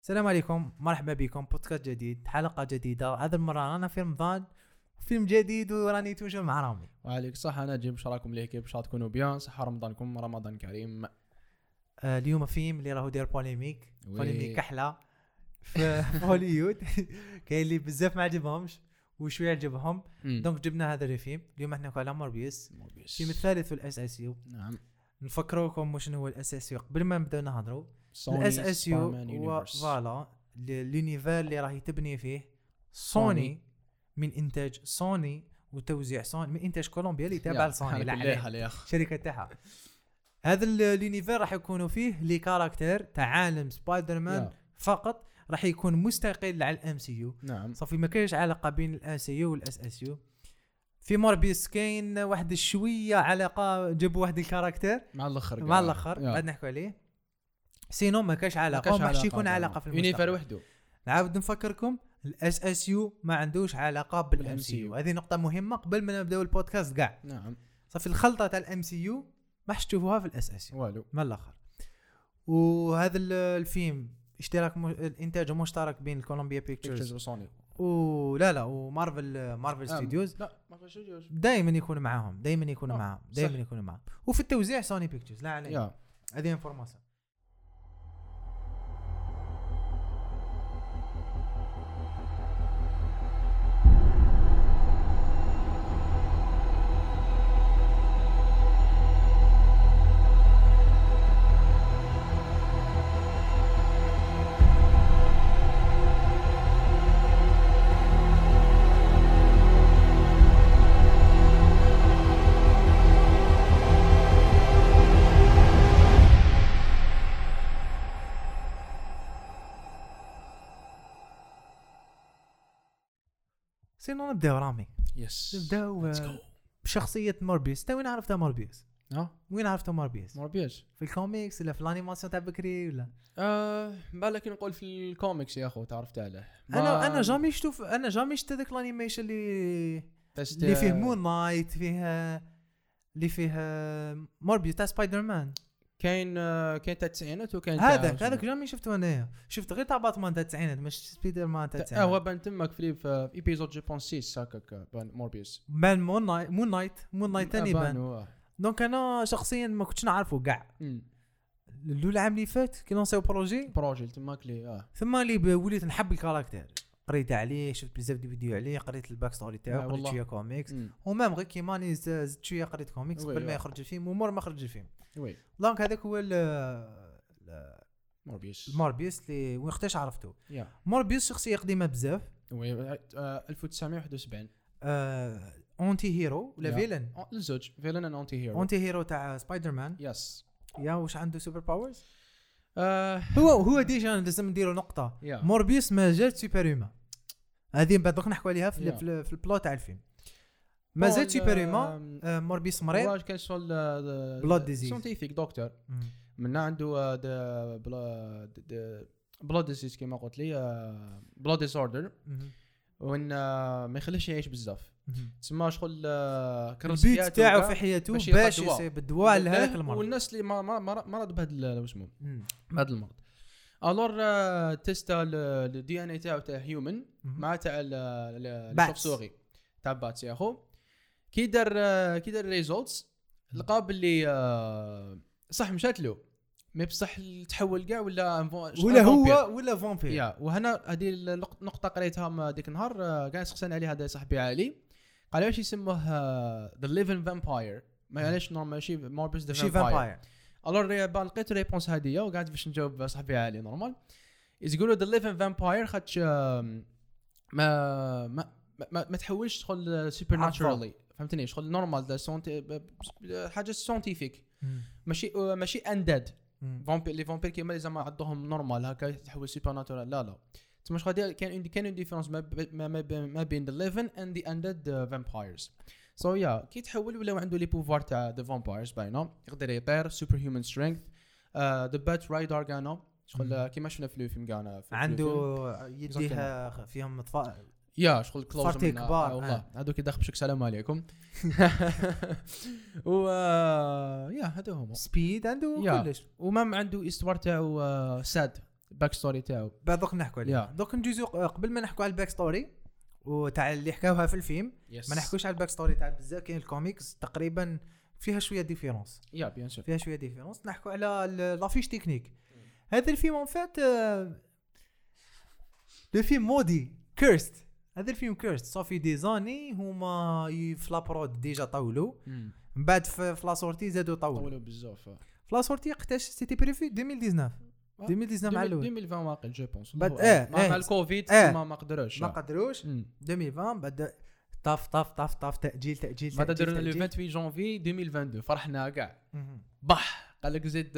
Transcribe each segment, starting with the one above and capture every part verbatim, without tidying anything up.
السلام عليكم، مرحبا بكم بودكاست جديد، حلقة جديدة. هذا المرة أنا في رمضان، فيلم جديد وراني توجه مع رامي. وعليك صح. أنا جيب شراكم ليه كيف شاء تكونوا بيان صحة. رمضانكم رمضان كريم. آه اليوم فيلم اللي راهو داير بوليميك وي. بوليميك كحلة في هوليوود. كاين اللي بزاف ما عجبهمش وشوية عجبهم، دونك جبنا هذا الفيلم. اليوم احنا على موربيوس، الفيلم الثالث في الاس اس يو. نعم. نفكروكم واش هو الاس اس يو قبل ما نبداو نهضروا. الاس اس يو هو فوالا لونيفير اللي راهي تبني فيه سوني، من انتاج سوني وتوزيع سوني، من انتاج كولومبيا اللي تابع لسوني لا شركه تاعها. هذا اليونيفير راح يكونوا فيه لي كاركتير تاع عالم سبايدر مان فقط، راح يكون مستقل على الام سي يو. نعم. صافي ما كاينش علاقه بين الام سي يو والاس اس يو. في موربيوس كاين واحد شويه علاقه، جابوا واحد الكاركتير مع الاخر مع الاخر بعد نحكوا عليه. سينو ما كاش علاقه، ما حش يكون علاقه في المستقبل. يونيفير وحده. نعاود نفكركم، الاس اس يو ما عندوش علاقه بالام سي يو. هذه نقطه مهمه قبل ما نبداو البودكاست كاع. نعم. صافي الخلطه تاع الام سي يو ما حش تشوفوها في الاس اس يو والو من الاخر. وهذا الفيلم اشتراك م... الانتاج مشترك بين كولومبيا بيكتشرز وسوني ولا لا ومارفل مارفل ستوديوز. لا مارفل ستوديوز دائما يكونوا معاهم دائما يكونوا معاهم دائما يكونوا معاهم وفي التوزيع سوني بيكتشرز. لا عليه هذه انفورماسيون. سينو نبداو رامي. يس نبداو بشخصية موربيوس. تا وين عرفتها موربيوس؟ اه وين عرفتها موربيوس؟ موربيوس في الكوميكس ولا في الانيماسيون تاع بكري ولا؟ اه بالك نقول في الكوميكس يا اخو تعرفت عليه. انا انا جامي شفت انا جامي شفت هذاك الانيميشن اللي اللي فيه مون نايت، فيه اللي فيه موربيوس تاع سبايدر مان. كاين كاين تاع التسعينات وكاين هذاك هذاك جامي شفته انا. شفت غير تاع باتمان تاع التسعينات مش سبايدر مان تاع التسعينات. هو بان تمك في في ايبيزود جيبون ستة هكاك بان موربيوس بان مون نايت مون نايت مون نايت ثاني بان. دونك انا شخصيا ما كنتش نعرفه كاع. الاول عام اللي فات كي لونسيو بروجي بروجي تماك لي اه ثم اللي وليت نحب الكاركتير، قريت عليه، شفت بزاف دي فيديو عليه، قريت الباك ستوري تاعو، قريت شويه كوميكس ومام غير كيما اني زدت شويه قريت كوميكس قبل ما يخرج الفيلم ومور ما خرج الفيلم. وي دونك هذاك هو موربيوس. موربيوس اللي وقتاش عرفته. yeah. موربيوس شخصيه قديمه بزاف. وي ألف وتسعمية وواحد وسبعين. آه اونتي هيرو ولا فيلن؟ الزوج فيلن ان اونتي هيرو. اونتي هيرو تاع سبايدر مان. يس. يا واش عنده سوبر باورز؟ آه هو هو ديجا لازم نديروا نقطه. yeah. موربيوس ما زال سوبر هيومن. هذه بعد دوك نحكوا عليها في, yeah. في, في البلوت تاع الفيلم. ما زال سوبر هيومن. آه موربيوس مريض. هو كان شغل بلود ديزيز ساينتيفيك دكتور. من عنده بلود ديزيز كما قلت لي بلود ديسوردر وان ما يخليش يعيش بزاف. تسمى شغل البيت تاعو في حياته باش يصيب الدواء لهذاك المرض. والناس اللي ما مرض بهذا اسمه بهذا المرض الور تيستا الدي ان اي تاعو تاع هيومن مع تاع الشوفسوري تاع باتس يا اخو. كي دار كي دار ريزولتس لقى باللي صح مشات له مي بصح تحول كاع ولا ولا هو ولا فامبير. يا وهنا هذه النقطه قريتها ديك النهار كاع سخسان عليها هذا صاحبي علي قال واش يسموه ذا ليفين فامباير. ما علاش نورمال ماشي موربيوس ذا فامباير. الور بان لقيت ريبونس هذه وقعدت باش نجاوب صاحبي علي نورمال يقولوا ذا ليفين فامباير خاطش ما ما ما, ما تحولش تدخل سوبر ناتشورالي فهمتني شغل نورمال حاجه ساينتيفيك ماشي ماشي اندد فامبير. لي فامبير كيما زعما عندهم نورمال هكا يتحول سوبر ناتشورال. لا لا تما شغل كان كان ديفرنس ما ما بين ذا ليفين اند ذا اندد فامبايرز. سو يا كي تحول ولا عنده لي بوفوار تاع ذا فامبايرز باينه يقدر يطير سوبر هيومن سترينث. ذا بات رايدر كانوا شغل كيما شفنا في الفيلم كانا عنده يديها فيهم اطفاء يا شغل كلوز من كبار والله هذوك يدخل بشك سلام عليكم. و يا هذا هما سبيد عنده كلش وما عنده استوار تاعو ساد الباك ستوري تاعو بعد دوك نحكوا عليه. Yeah. دوك نجوزو قبل ما نحكوا على الباك ستوري وتاع اللي حكاوها في الفيلم yes. ما نحكوش على الباك ستوري تاع بزاف. كاين الكوميكس تقريبا فيها شويه ديفيرونس يا بيان سور فيها شويه ديفيرونس. نحكوا على لافيش تكنيك. هذا الفيلم اون فات لو فيلم مودي كيرست. هذا الفيلم كيرست صافي دي زاني هما في لابرود ديجا طولوا من بعد في لا سورتي زادوا طولوا طولوا بزاف. في لا سورتي وقتاش سيتي بريفي ألفين وتسعطاش ألفين وتسعطاش مع الاول ألفين وعشرين واقع جو بونس بعد اه مع الكوفيد آه. ما ما قدروش ما قدروش ألفين وعشرين بعد طاف طاف طاف طاف تاجيل تاجيل بعد درنا لو ثمانية وعشرين جونفي ألفين واثنين وعشرين فرحنا كاع بح قال لك زيد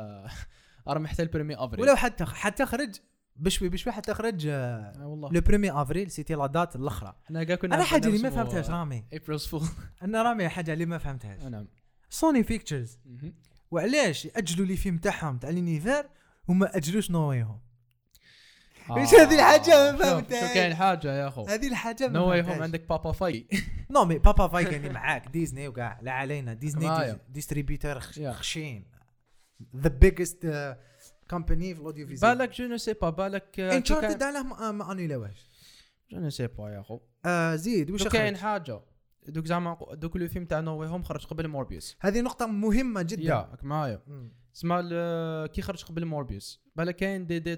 راه حتى البريمي افريل ولو حتى حتى خرج بشوي بشوي حتى خرج آه والله لو بريمي افريل سيتي لا دات الاخرى. انا كاع كنا انا حاجه اللي ما فهمتهاش رامي ابريلز فول انا رامي حاجه اللي ما فهمتهاش. نعم سوني بيكتشرز وعلاش ياجلوا لي فيلم تاعهم تاع لينيفير وما اجلوش نويهم؟ ايش هذه الحاجه ما فهمتهاش. شو كاين حاجه يا اخو هذه الحاجه ما نويهم عندك بابا فاي نو مي بابا فاي كان معاك ديزني وكاع لا علينا ديزني ديستريبيوتور خشين ذا بيجست كومباني في الاوديو فيزيو. بالك جو نو سي با بالك انشارتد على ما انيلاوش جو نو سي با يا اخو. آه زيد واش كاين حاجه دوك زعما دوك لو فيلم تاع نو هوم خرج قبل موربيوس. هذه نقطه مهمه جدا ياك معايا اسمع كي خرج قبل موربيوس بالك كاين دي دي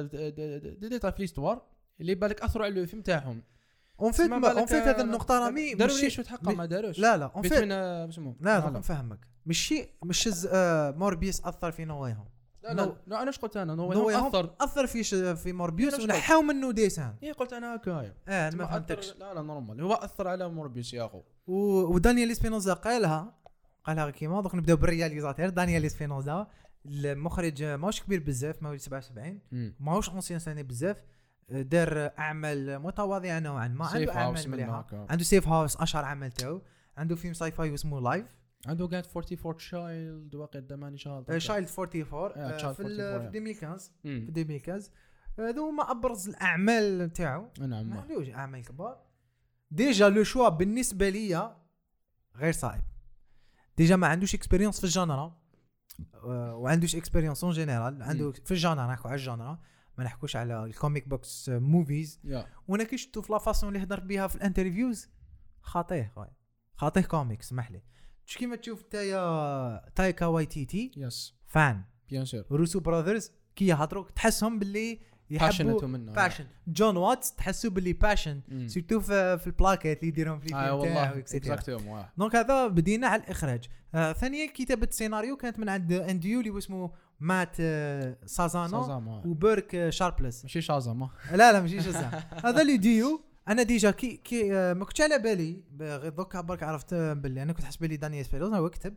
دي دي في ليستوار اللي بالك اثروا على الفيلم تاعهم اون فيت اون فيت هذا النقطه رامي داروا شو تحقق ما داروش لا لا اون فيت لا لا نفهمك ماشي مش موربيوس اثر في نويهم. لا لا لا انا ايش قلت انا نويهم اثر اثر في في موربيوس ونحاو منه ديسان. ايه قلت انا هكايا اه انا ما فهمتكش. لا لا نورمال هو اثر على موربيوس يا اخو. ودانيال اسبينوزا قالها قالها كيما دوك نبداو بالرياليزاتور دانيال اسبينوزا المخرج ماهوش كبير بزاف ماهوش سبعة وسبعين ماهوش اونسيان ساني بزاف دار اعمال متواضعه نوعا ما عنده اعمال مليحه عنده سيف هاوس اشهر عمل تاعو عنده فيلم ساي فاي اسمه لايف عنده قاعد أربعة وأربعين شايلد واقع دماني شايلد شايلد أربعة وأربعين في ألفين وخمسطاش في ألفين وخمسطاش هذو هما ابرز الاعمال تاعو. نعم ما عندوش اعمال كبار ديجا لو شوا بالنسبه ليا غير صعب. ديجا ما عندوش اكسبيريونس في الجانرا وعندوش اكسبيريونس اون جينيرال عنده في الجانرا نحكوا على الجانرا ما نحكوش على الكوميك بوكس موفيز. وانا كي شفتو في لا فاصون اللي هضر بها في الانترفيوز خاطيه خويا خاطيه كوميك سمح لي مش كيما تشوف تايا تايكا واي تي تي يس فان بيان سور روسو براذرز كي يهضروا تحسهم باللي يحبوا باشن. جون واتس تحسوا باللي باشن سيرتو في, في البلاكيت اللي يديرهم في الفيلم تاعو اكسترا. دونك هذا بدينا على الاخراج. آه ثانيا كتابه السيناريو كانت من عند انديو اللي اسمه مات آه سازانو وبيرك آه شاربلس ماشي شازاما لا لا ماشي شازاما هذا اللي ديو. انا ديجا كي كي آه ما كنتش على بالي غير دوك برك عرفت باللي انا كنت حسب لي دانيال سبيلوز هو كتب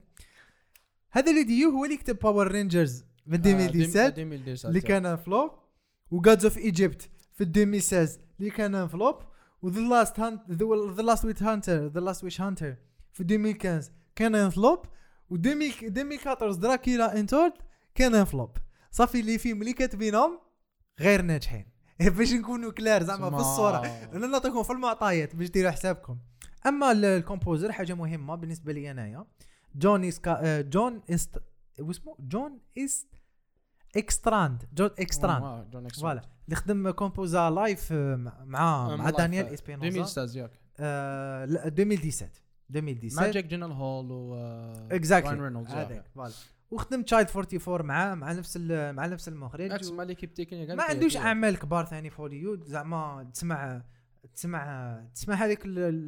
هذا اللي ديو هو اللي كتب باور رينجرز في ألفين وسبعطاش اللي كان فلوب وجادز اوف ايجيبت في ألفين وستة عشر اللي كان فلوب وذا لاست هانت ذا لاست ويت هانتر ذا لاست ويش هانتر في ألفين وخمسطاش كان فلوب و ألفين وأربعطاش دراكيلا انتورد كان فلوب. صافي اللي فيلم اللي كاتبينهم غير ناجحين باش نكونوا كلار زعما في الصوره انا نعطيكم في المعطيات باش ديروا حسابكم. اما الكومبوزر حاجه مهمه بالنسبه لي انايا جون اسكا جون است واسمه جون است اكستراند جون اكستراند فوالا اللي خدم كومبوزا لايف مع مع دانيال اسبينوزا ألفين وستة ياك آه ألفين وسبعطاش ألفين وسبعطاش مع جاك جينال هول و راين رينولدز هذاك فوالا وخدم تشايلد أربعة وأربعين مع مع نفس مع نفس المخرج نفس مع ليكيب تكنيك ما عندوش اعمال كبار ثاني في هوليوود زعما تسمع تسمع تسمع هذيك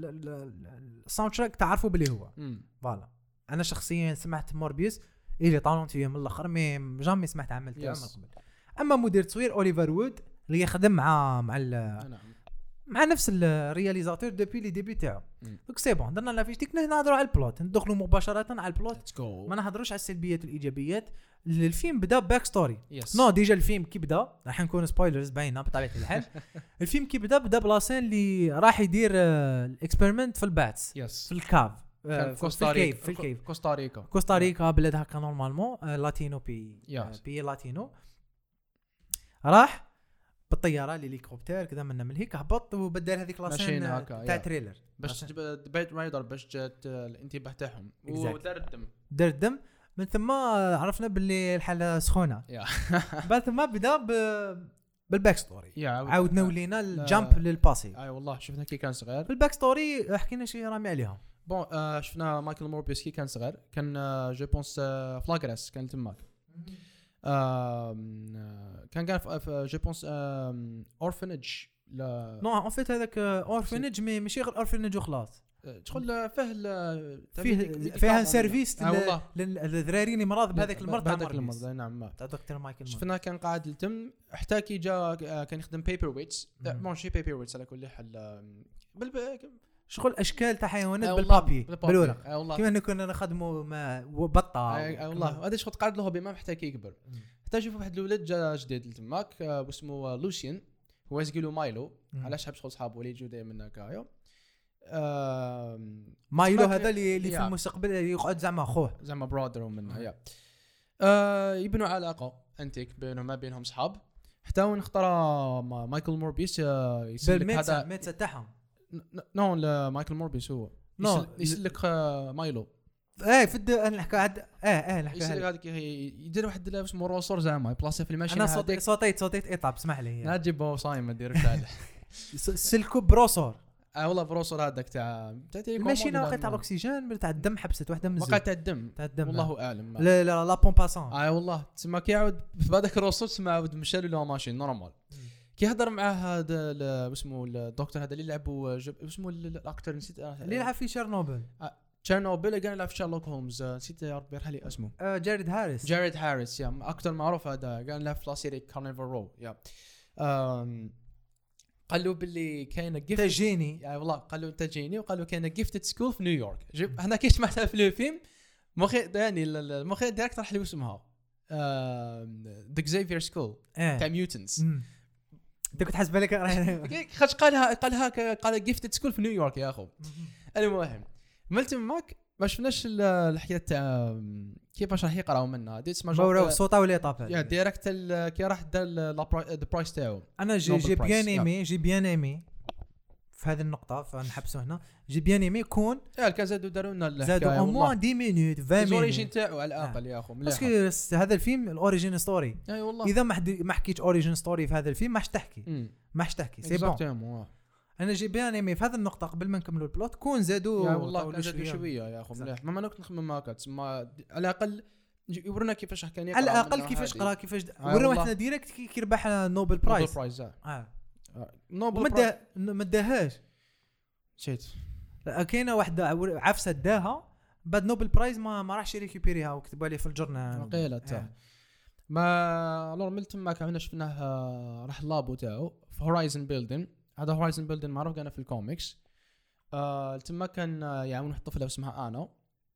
الساوند تراك تعرفوا بلي هو فوالا. انا شخصيا سمعت موربيوس اللي طالونت فيه من الاخر مي جامي سمعت عمل تاعو من قبل. اما مدير تصوير اوليفر وود اللي يخدم مع مع مع نفس الرياليزاتور دوبي لي ديبي تاعو دونك سي بون درنا لا فيش ديك نهضروا على البلوت ندخلوا مباشره على البلوت ما نهضروش على السلبيات والايجابيات. الفيلم بدا باك ستوري نو ديجا الفيلم كي بدا راح نكون سبويلرز باينه بطبيعه الحال. الفيلم كي بدا بدا بلاسين اللي راح يدير الاكسبيرمنت في الباتس في الكاف في كوستاريكا في الكيف كوستاريكا كوستاريكا بلاد هكا نورمالمون لاتينو بي بي لاتينو راح بالطياره للهليكوبتر كذا من من هيك هبط وبدل هذيك لاسين تاع تريلر باش بيت رايدر باش جات الانتباه تاعهم ودار الدم دار الدم من ثم عرفنا باللي الحاله سخونه. بعد ثم بدا ب بالباك ستوري عاودنا ولينا الجامب للباسي. اي والله شفنا كي كان صغير في الباك ستوري حكينا شي رامي عليها. بون آه شفنا مايكل موربيوس كي كان صغير كان آه جو بونس آه فلاغراس كان تماك. آه كان كان جو بونس اورفنج لا نو ان فيت هذاك اورفنج مي ماشي غير اورفنج وخلاص تدخل فيه فيه فيها سيرفيس للذراري اللي مرض بهذاك المرض هذاك المرض. نعم تاع دكتور مايكل. شفنا كان قاعد يتم حتى كي جا كان يخدم بيبر ويتس ماشي بيبر ويتس على كل حال شغل اشكال تاع حيوانات بالبابي بالورق كيما كنا نخدموا مع بطه. اي والله هذا شغل قاعد له بما حتى كي يكبر. حتى شوف واحد الولد جا جديد تماك واسمه لوسيان هو يقولوا مايلو. علاش حاب شغل صحابه اللي يجوا دائما هكايا. آه مايلو هذا اللي, اللي في المستقبل يقعد زعما اخوه زعما برادر ومنها يا آه يبنوا علاقه انتيك بينهم ما بينهم صحاب حتى وين اختار مايكل موربيس يسلك هذا الميت تاعهم. نو مايكل موربيس هو نو يسلك مايلو. ايه في انا نحكي عاد اه اه نحكي هذيك يدير واحد اسمه روسور زعما بلاصه في الماشين. انا صوتيت صوتيت صوتيت اطاب اسمح لي لا تجيبه صايم ديرك هذا سلكو بروسور. اه والله بروسور هذاك تاع تاع الماشينه وقت تاع الاكسجين تاع الدم حبست واحده من الزيت وقت تاع الدم تاع الدم والله اعلم. لا لا لا بومباسون اه والله تسمى كي يعاود في هذاك الروسور تسمى عاود مشى له ماشين نورمال. كي هضر مع هذا اسمه الدكتور هذا اللي لعبوا اسمه الاكتر نسيت اللي لعب في شيرنوبل تشيرنوبل كان يلعب في شارلوك هولمز نسيت يا ربي يرحل لي اسمه جاريد هاريس. جاريد هاريس يا اكتر معروف هذا كان يلعب في لا سيري كارنيفال رو يا قالوا باللي كاينه جيفت تجيني يعني والله قالوا تجيني وقالوا كاينه جيفتد سكول في نيويورك. هنا كي سمعتها في الفيلم مخي يعني المخي ديريكت راح لي اسمها ذا زيفير سكول تاع ميوتنتس. انت كنت حاسب بالك خاطش قالها قالها قال جيفتد سكول في نيويورك يا اخو. المهم ملت ماك ما شفناش الحكايه تاع كيفاش راح يقراو منها دي اسمها جو صوتا ولا طاب يا ديريكت كي راح دار ذا برايس تاعو. انا جي جي بيان ايمي جي بيان ايمي في هذه النقطه فنحبسوا هنا جي بيان ايمي كون يا كازادو داروا لنا زادوا او موان عشر مينوت عشرين مينوت الاوريجين تاعو على الاقل يا اخو باسكو هذا الفيلم الاوريجين ستوري. اي والله اذا ما ما حكيتش اوريجين ستوري في هذا الفيلم ماش تحكي ماش تحكي سي بون. انا جي بيان ايمي في هذه النقطه قبل ما نكملوا البلوت كون زادوا يا والله زادوا شويه يا اخو مليح ما انا كنت نخمم هكا تسمى على الاقل يورينا كيفاش كان يقرا على الاقل كيفاش قرا كيفاش ورونا احنا ديريكت كي ربح نوبل برايز نوبل برايز اه نوبل برايز ما داهاش شيت كاينه واحده عفسه داها بعد نوبل برايز ما ما راحش ريكوبيريها وكتبوا عليه في الجورنال قيله تاع ما الور ملت ما كنا شفناه راح اللابو تاعو في هورايزن بيلدين. هذا هورايزن بيلدين معروف كان في الكوميكس. آه تما كان يعاون واحد الطفله اسمها انا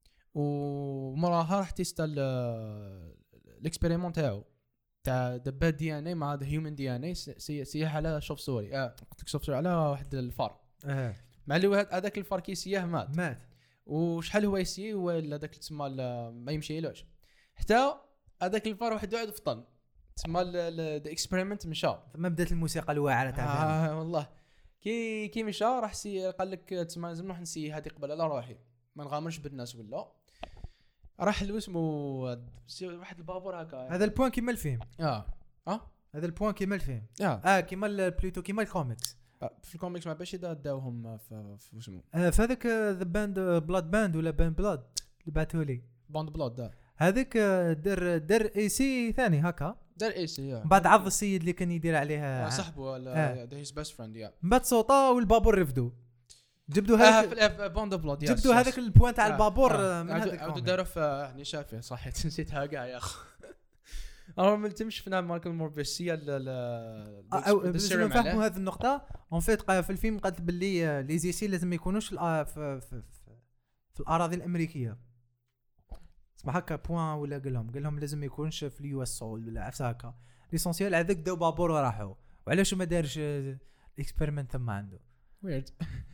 ومراها راح تيستال الاكسبيريمون تاعو تاع دبا دي ان اي مع ذا هيومن دي ان اي سيح على شوف سوري اه قلت لك شوف سوري على واحد الفار اه مع اللي هذاك الفار كي سياه مات مات وشحال هو يسي ولا داك تسمى ما يمشيلوش حتى هذاك الفار واحد واحد فطن تسمى الاكسبيريمنت مشى ثم بدات الموسيقى الواعره تاع آه والله كي كي مشى راح سي قال لك تسمى لازم نروح نسي هذه قبل على روحي ما نغامرش بالناس ولا راح لو اسمه واحد البابور هكا. هذا البوان كيما الفيلم اه اه هذا البوان كيما الفيلم اه, آه كيما البلوتو كيما الكوميكس. آه في الكوميكس ما باش داوهم في في اسمه آه في هذاك ذا باند بلاد باند ولا باند بلاد اللي بعثوا لي باند بلاد ده هذاك در در اي سي ثاني هكا دار اي سي بعد عض السيد اللي كان يدير عليها صاحبه ولا ذا هيز بيست فريند يا بعد صوتا والبابور رفدوا جبدوا هذاك اه باند بلاد جبدوا هذاك البوان تاع البابور من هذاك عاودوا داروا في هني شافيه صح نسيتها كاع يا اخو. انا ما تمش فينا ماركل موربيسيا باش نفهموا هذه النقطه اون فيت في الفيلم قالت باللي لي زيسي لازم ما يكونوش في في, في, في الاراضي الامريكيه اسمع هكا بوان ولا قال لهم قال لهم لازم ما يكونش في اليو اس سول ولا عفسه هكا ليسونسيال هذاك داو بابور وراحوا وعلاش ما دارش الاكسبيرمنت ثم عنده ويرد.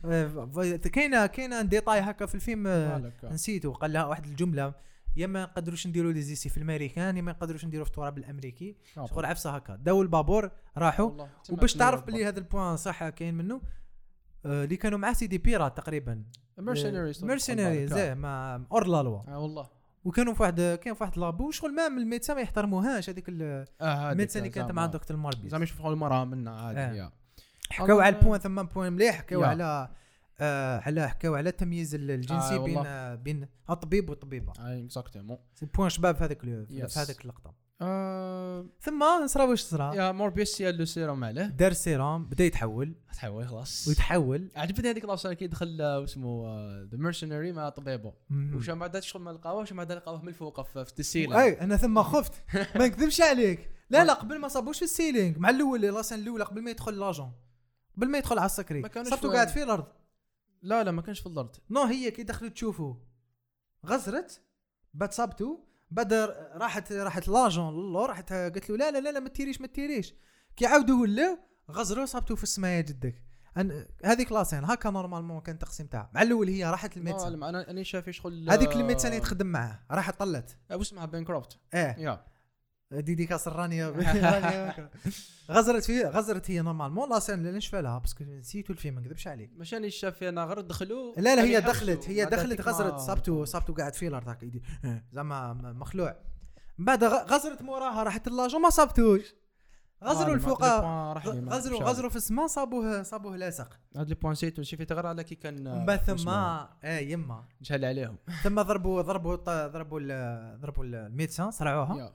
كاينه كاينه ديتاي هكا في الفيلم نسيته قال لها واحد الجمله يا ما نقدروش نديروا لي زيسي في الامريكان يا ما نقدروش نديروا في التراب الامريكي شغل عفسه هكا داو البابور راحوا وباش تعرف بلي هذا البوان صح كاين منه اللي كانوا مع سيدي بيرات تقريبا مرسيناريز مرسيناريز مع اور لا لوا اه والله وكانوا في واحد كان في واحد لابو شغل ما من الميدسان ما يحترموهاش هذيك الميدسان اللي كانت مع دكتور موربيوس زعما يشوفوا المراه منا عادي. آه. حكاو على البوين ثم بوين مليح حكاو على آه على حكاو على التمييز الجنسي آه بين آه بين الطبيب والطبيبه. اي اكزاكتومون سي بوين شباب في هذاك في هذاك اللقطه. آه ثم صرا واش صرا يا موربيوس يا لو سيروم عليه دار سيروم بدا يتحول تحول خلاص ويتحول. عجبتني هذيك لاشين كي دخل اسمه ذا ميرسينري مع طبيبه وش ما دات شغل ما لقاوهش ما لقاوه من الفوق في السيلينغ. اي انا ثم خفت ما نكذبش عليك. لا لا قبل ما صابوش في السيلينغ مع الاول لاشين الاولى قبل ما يدخل لاجون قبل ما يدخل على السكري صرتو قاعد في الارض. لا لا ما كانش في الارض. نو هي كي دخلت تشوفوا غزرت بعد صابتو بعد راحت راحت لاجون لو راحت قالت له لا لا لا ما تيريش ما تيريش كي عاودوا ولاو غزروا صابتو في السماء جدك. هذيك لاسين هكا نورمالمون كان التقسيم تاعها. مع الاول هي راحت الميدسان انا انا شايف شغل هذيك الميدسان اللي تخدم معاه راحت طلت واش اسمها بينكروفت اه يا ديدي كاسر رانيا غزرت فيه غزرت هي نورمالمون لاسين اللي نشفى لها باسكو نسيتو الفيلم ما نكذبش عليك ماشي انا شاف انا غير دخلوا. لا لا هي دخلت هي دخلت غزرت صابتو صابتو قاعد في الارض هكا يدي زعما مخلوع. بعد غزرت موراها راحت اللاجو ما صابتوش غزروا الفوق غزروا غزروا في السماء صابوه صابوه لاصق. هاد لي بوين سيتو شي في تغير على كي كان من ثم اه يما جهل عليهم ثم ضربوا ضربوا ضربوا ضربوا الميدسان صرعوها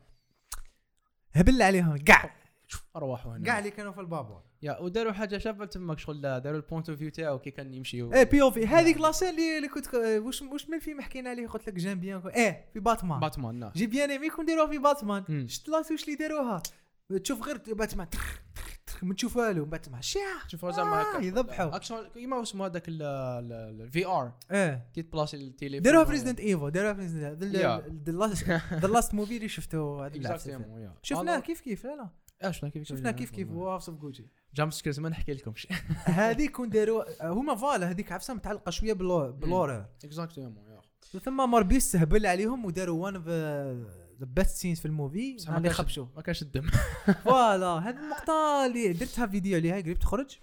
هبل عليهم كاع ارواحوا هنا كاع اللي كانوا في البابور يا وداروا حاجه شابه تماك شغل داروا البوينت اوف فيو تاعو كي كان يمشي ايه بي او في هذيك لاسين اللي, اللي كنت واش واش من الفيلم حكينا عليه قلت لك جيم بيان ايه في باتمان باتمان جي بيان ايمي كون ديروها في باتمان شفت لاسوش اللي داروها تشوف غير باتمان ما تشوف والو باتمان شاع تشوفوا زعما هكا يذبحوا اكشن كيما اسمه هذاك الفي ار ايه كي تبلاصي التيليفون داروها في ريزيدنت ايفو داروها في ريزيدنت ذا لاست موفي اللي شفتو شفناه كيف كيف لا لا اشنا كيف شفنا كيف كيف واصف جوجي جامب سكيرز ما نحكي لكمش هذيك كون داروا هما فوالا هذيك عفسه متعلقه شويه باللور اكزاكتومون ثم موربيوس سهبل عليهم وداروا وان اوف ذا بيست سينز في الموفي اللي خبشوا ما كانش الدم فوالا هذه النقطه اللي درتها فيديو عليها قريب تخرج.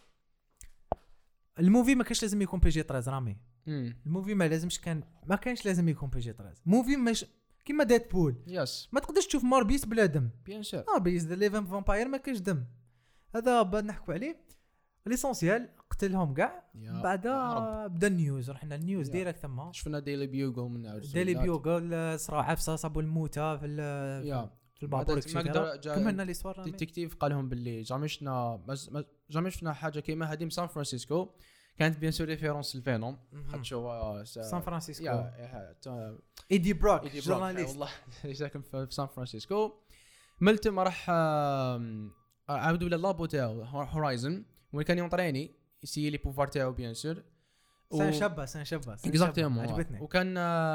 الموفي ما كانش لازم يكون بي جي ثلاثة رامي الموفي ما لازمش كان ما كانش لازم يكون بي جي ثلاثة موفي مش كيما ديت بول يس ما تقدرش تشوف موربيوس بلا دم بيان سور موربيوس ذا ليفن فامباير ما كاش دم هذا بعد نحكوا عليه ليسونسيال قتلهم كاع بعدا بدا النيوز رحنا النيوز ديريكت ثم شفنا ديلي بيوغل من عاود ديلي بيوغل صرا عفسه صابوا الموتى في في البابور كملنا لي صور ديتكتيف قال لهم باللي جامي شفنا جامي شفنا حاجه كيما هذه من سان فرانسيسكو كانت بيان سور ريفيرونس للفينوم خاطشوا سان فرانسيسكو ايدي بروك جورناليست والله ساكن في سان فرانسيسكو ملتم راح عاودوا للابو تاعو هورايزن وين كان يونطريني يسي لي بوفوار تاعو بيان سور سان شابه سان شابه اكزاكتومون عجبتني وكان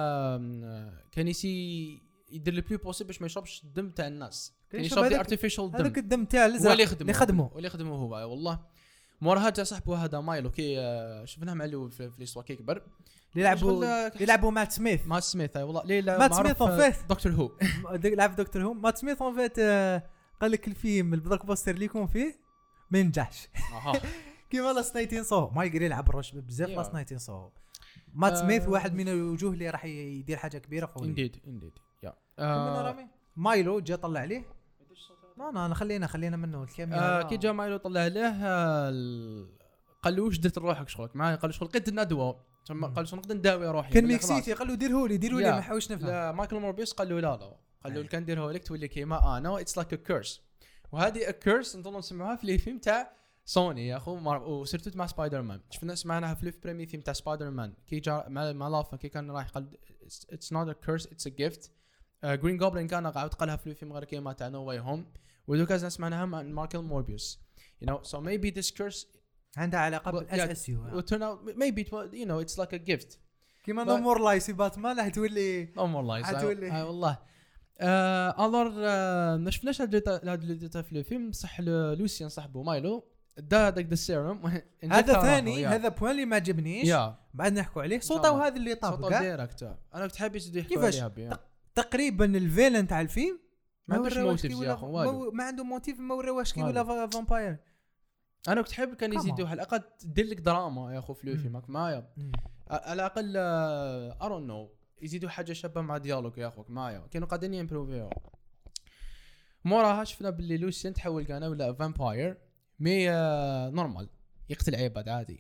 كان يسي يدير لو بلو بوسيبل باش ما يشربش الدم تاع الناس كان يشرب دي ارتيفيشال دم هذاك الدم تاع الازرق اللي خدمه اللي خدمه هو والله موراها تاع صاحبه هذا مايلو كي شفناه مع الاول في ليستوا كي كبر اللي يلعبوا يلعبوا مات سميث مات سميث اي والله ليلى مات سميث اون فيت دكتور هو لعب دكتور هو مات سميث اون فيت قال لك الفيلم البلوك باستر اللي يكون فيه ما ينجحش كيما لاست نايتين سو ما يقدر يلعب الروش بزاف لاست نايتين سو مات سميث واحد من الوجوه اللي راح يدير حاجه كبيره فوق انديد انديد يا مايلو جا طلع عليه لا لا خلينا خلينا منه الكاميرا آه كي جا مايلو طلع عليه قال له واش درت روحك شغلك معايا قال له شغل لقيت الندوه ثم قال له شنو نقدر نداوي روحي كان ميكسيتي قال له ديره لي ديروا لي ما حاولش نفهم لا مايكل موربيوس قال له لا لا قال له كان ديره لك تولي كيما انا اتس لايك ا كيرس وهذه ا كيرس نظن نسمعوها في لي فيلم تاع سوني يا اخو وسيرتو مع سبايدر مان شفنا سمعناها في البريمي ثيم تاع سبايدر مان كي جا مع مع لافا كي كان رايح قال اتس نوت ا كيرس اتس ا جيفت جرين جوبلين كان قاعد قالها في الفيلم غير كيما تاع نو واي هوم ودوكا سمعناها مع مايكل موربيوس you know so maybe this curse عندها علاقه بالاس اس يو will turn out maybe it will, you know it's like a gift كيما نو مور لايس باتمان راح تولي نو مور لايس تولي والله اه الور ما شفناش هذا هذا في الفيلم صح لوسيان صاحبه مايلو دا داك السيروم هذا ثاني هذا بوين اللي ما عجبنيش بعد نحكوا عليه صوته وهذا اللي طاب صوته ديريكت انا كنت حابب يزيدوا يحكوا عليها تقريبا الفيلن تاع الفيلم ما عندوش موتيف يا اخو والو ما عنده موتيف ما وراوش كي ولا فامباير انا كنت حابب كان يزيدوا على الاقل دير لك دراما يا اخو في الفيلم معايا على الاقل ارون نو يزيدوا حاجه شابه مع ديالوج يا اخوك معايا كانوا قاعدين يمبروفيو. موراها شفنا باللي لوسيان تحول كان ولا فامباير مي آه نورمال يقتل عباد عادي.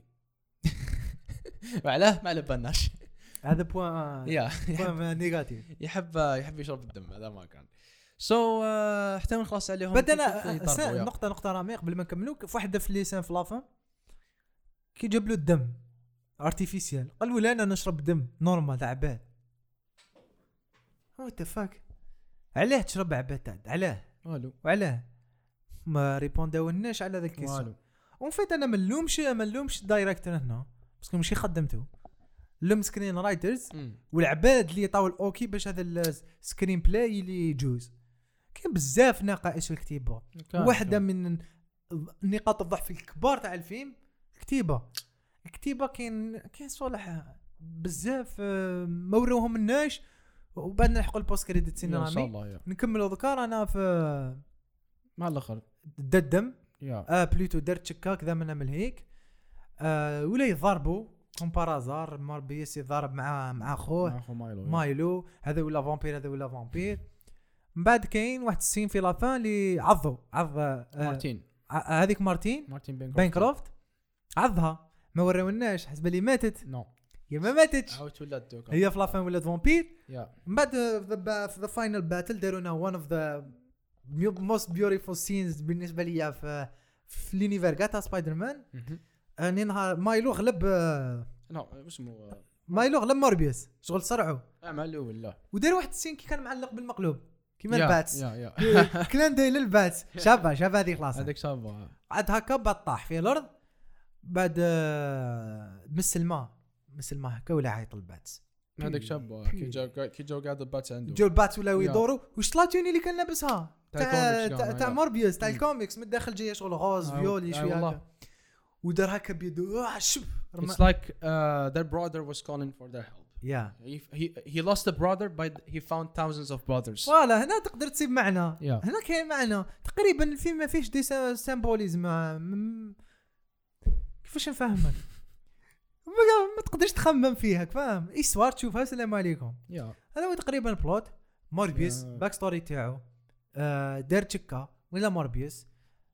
وعلاه ما على بالناش هذا بوان يا بوان نيجاتيف. يحب يحب يشرب الدم هذا ما كان سو so, uh, حتى نخلص عليهم. بدنا نقطه نقطه رامي قبل ما نكملوا في واحده في ليسان في لافان كي جاب له الدم ارتيفيسيال قال ولا انا نشرب دم نورمال تاع عباد. هو تفاك علاه تشرب عباد تاع علاه والو وعلاه ما ريبونداولناش على ذاك الكيسون. ومن فيت انا ما نلومش ما نلومش الدايركتور هنا باسكو ماشي خدمته لم سكرين رايترز والعباد اللي يعطاو الاوكي باش هذا السكرين بلاي اللي يجوز. كاين بزاف نقائص في الكتيبه. واحده من نقاط الضعف الكبار تاع الفيلم الكتيبه. الكتيبه كاين كاين صالح بزاف ما وروهم الناش وبعد نلحقوا البوست كريديت سين رامي نكملوا ذكر. انا في مع الاخر ددم اه بلوتو درت شكا كذا من من هيك آه ولا يضربوا كوم بارازار ماربيس يضرب مع مع اخوه مايلو. مايلو هذا ولا فامبير هذا ولا فامبير. من بعد كاين واحد السين في لافان اللي عضوا عض آه مارتين هذيك مارتين مارتين بانكروفت عضها ما وراوناش حسب لي ماتت نو no. هي ما ماتتش عاودت ولات دوكا هي في لافان ولات فامبير. yeah. من بعد في ذا فاينل باتل دارونا وان اوف ذا موست بيوتيفول سينز بالنسبه ليا في في لونيفير تاع سبايدر مان. اني نهار مايلو غلب نو اسمه مايلو غلب موربيوس شغل صرعوا عملوا ولا ودار واحد السين كي كان معلق بالمقلوب كيما yeah. الباتس يا يا كلان داير للباتس شابه شابه هذيك خلاص هذيك شابه عاد هكا بعد طاح في الارض بعد مس الماء مس الماء هكا ولا عيط الباتس هذيك شابه كي جا كي جا قاعد الباتس عنده جو الباتس ولا يدوروا واش طلاتوني اللي كان لابسها تاع تاع موربيوس تاع الكوميكس من الداخل جايه شغل غوز فيولي شويه هكا ودار هكا بيدو شب. It's like uh, their brother was calling for their help. Yeah. He he he lost a brother but he found thousands of brothers. فوالا هنا تقدر تسيب معنى. yeah. هنا كاين معنى تقريبا الفيلم ما فيش دي سيمبوليزم كيفاش نفهمك ما تقدرش تخمم فيها فاهم ايستوار تشوفها السلام عليكم. yeah. هذا هو تقريبا بلوت موربيوس yeah. باك ستوري تاعو آه دار تشكا ولا موربيوس